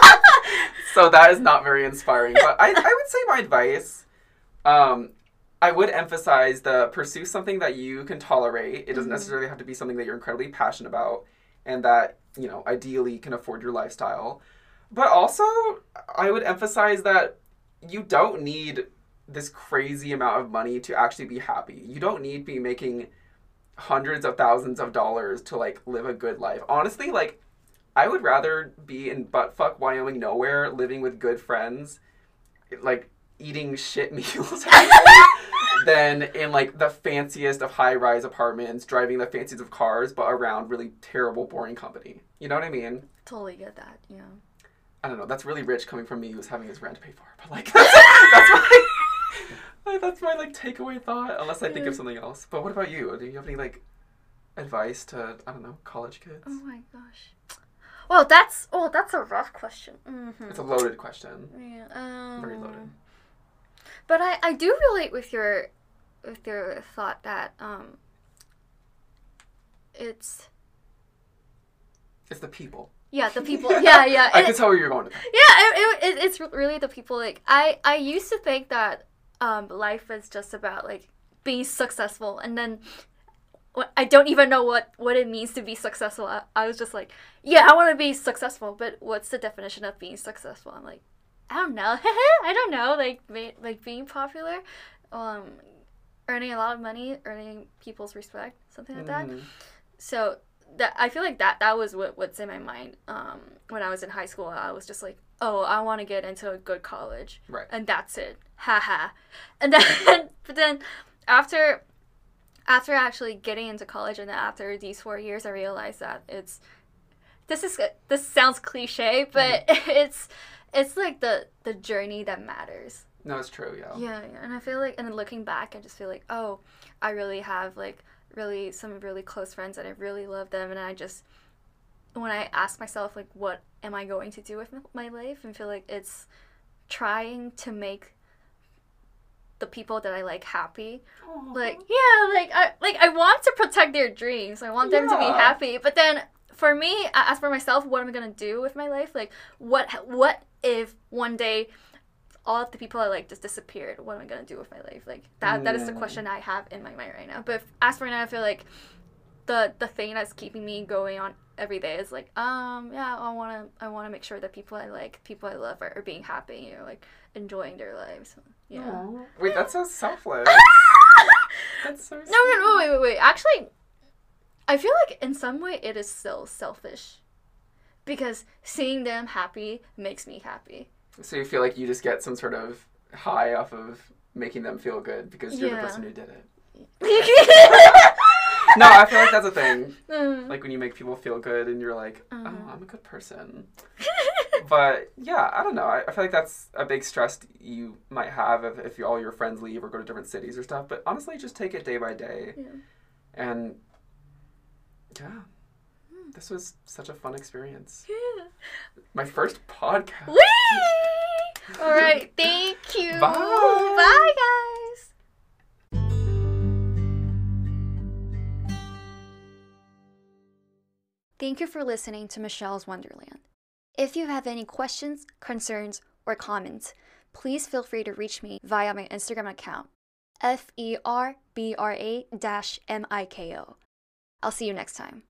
So that is not very inspiring. But I would say my advice, I would emphasize pursue something that you can tolerate. It doesn't necessarily have to be something that you're incredibly passionate about and that, you know, ideally can afford your lifestyle. But also, I would emphasize that you don't need this crazy amount of money to actually be happy. You don't need to be making hundreds of thousands of dollars to, like, live a good life. Honestly, like, I would rather be in buttfuck Wyoming nowhere, living with good friends, like, eating shit meals than in, like, the fanciest of high-rise apartments, driving the fanciest of cars, but around really terrible, boring company. You know what I mean? Totally get that, yeah. I don't know, that's really rich coming from me who's having his rent paid for, but, like, that's my, like, takeaway thought, unless I think of something else. But what about you? Do you have any, like, advice to, I don't know, college kids? Oh my gosh. Well, that's a rough question. It's a loaded question. Yeah. Very loaded. But I do relate with your thought that it's the people. Yeah, the people. Yeah. I can tell where you're going with that. Yeah, it's really the people. Like I used to think that life is just about like being successful, and then I don't even know what it means to be successful. I was just like, yeah, I want to be successful, but what's the definition of being successful? I'm like, I don't know. I don't know. Like being popular, earning a lot of money, earning people's respect, something like that. So that I feel like that was what's in my mind. When I was in high school, I was just like, oh, I want to get into a good college, right? And that's it, haha. And then, but then after actually getting into college, and then after these 4 years, I realized that this sounds cliche, but it's like the journey that matters. No, it's true, yeah. Yeah, and I feel like, and then looking back, I just feel like, oh, I really have like some really close friends and I really love them, and I just, when I ask myself like, what am I going to do with my life, and feel like it's trying to make the people that I like happy. Aww. Like, yeah, I want to protect their dreams. I want them to be happy. But then for me, as for myself, what am I gonna do with my life? Like, what if one day all of the people I like just disappeared? What am I gonna do with my life? Like that is the question I have in my mind right now. But as for now, I feel like the thing that's keeping me going on every day is like, I wanna make sure that people I like, people I love are being happy, like enjoying their lives. Yeah. Aww. Wait, that's so selfless. That's so sweet. No, wait. Actually, I feel like in some way it is still selfish. Because seeing them happy makes me happy. So you feel like you just get some sort of high off of making them feel good because you're the person who did it. No, I feel like that's a thing. Like when you make people feel good and you're like, oh, I'm a good person. But yeah, I don't know. I feel like that's a big stress you might have if all your friends leave or go to different cities or stuff. But honestly, just take it day by day. Yeah. And yeah, this was such a fun experience. Yeah. My first podcast. Whee! All right, thank you. Bye. Bye, guys. Thank you for listening to Michelle's Wonderland. If you have any questions, concerns, or comments, please feel free to reach me via my Instagram account, FERBRA-MIKO. I'll see you next time.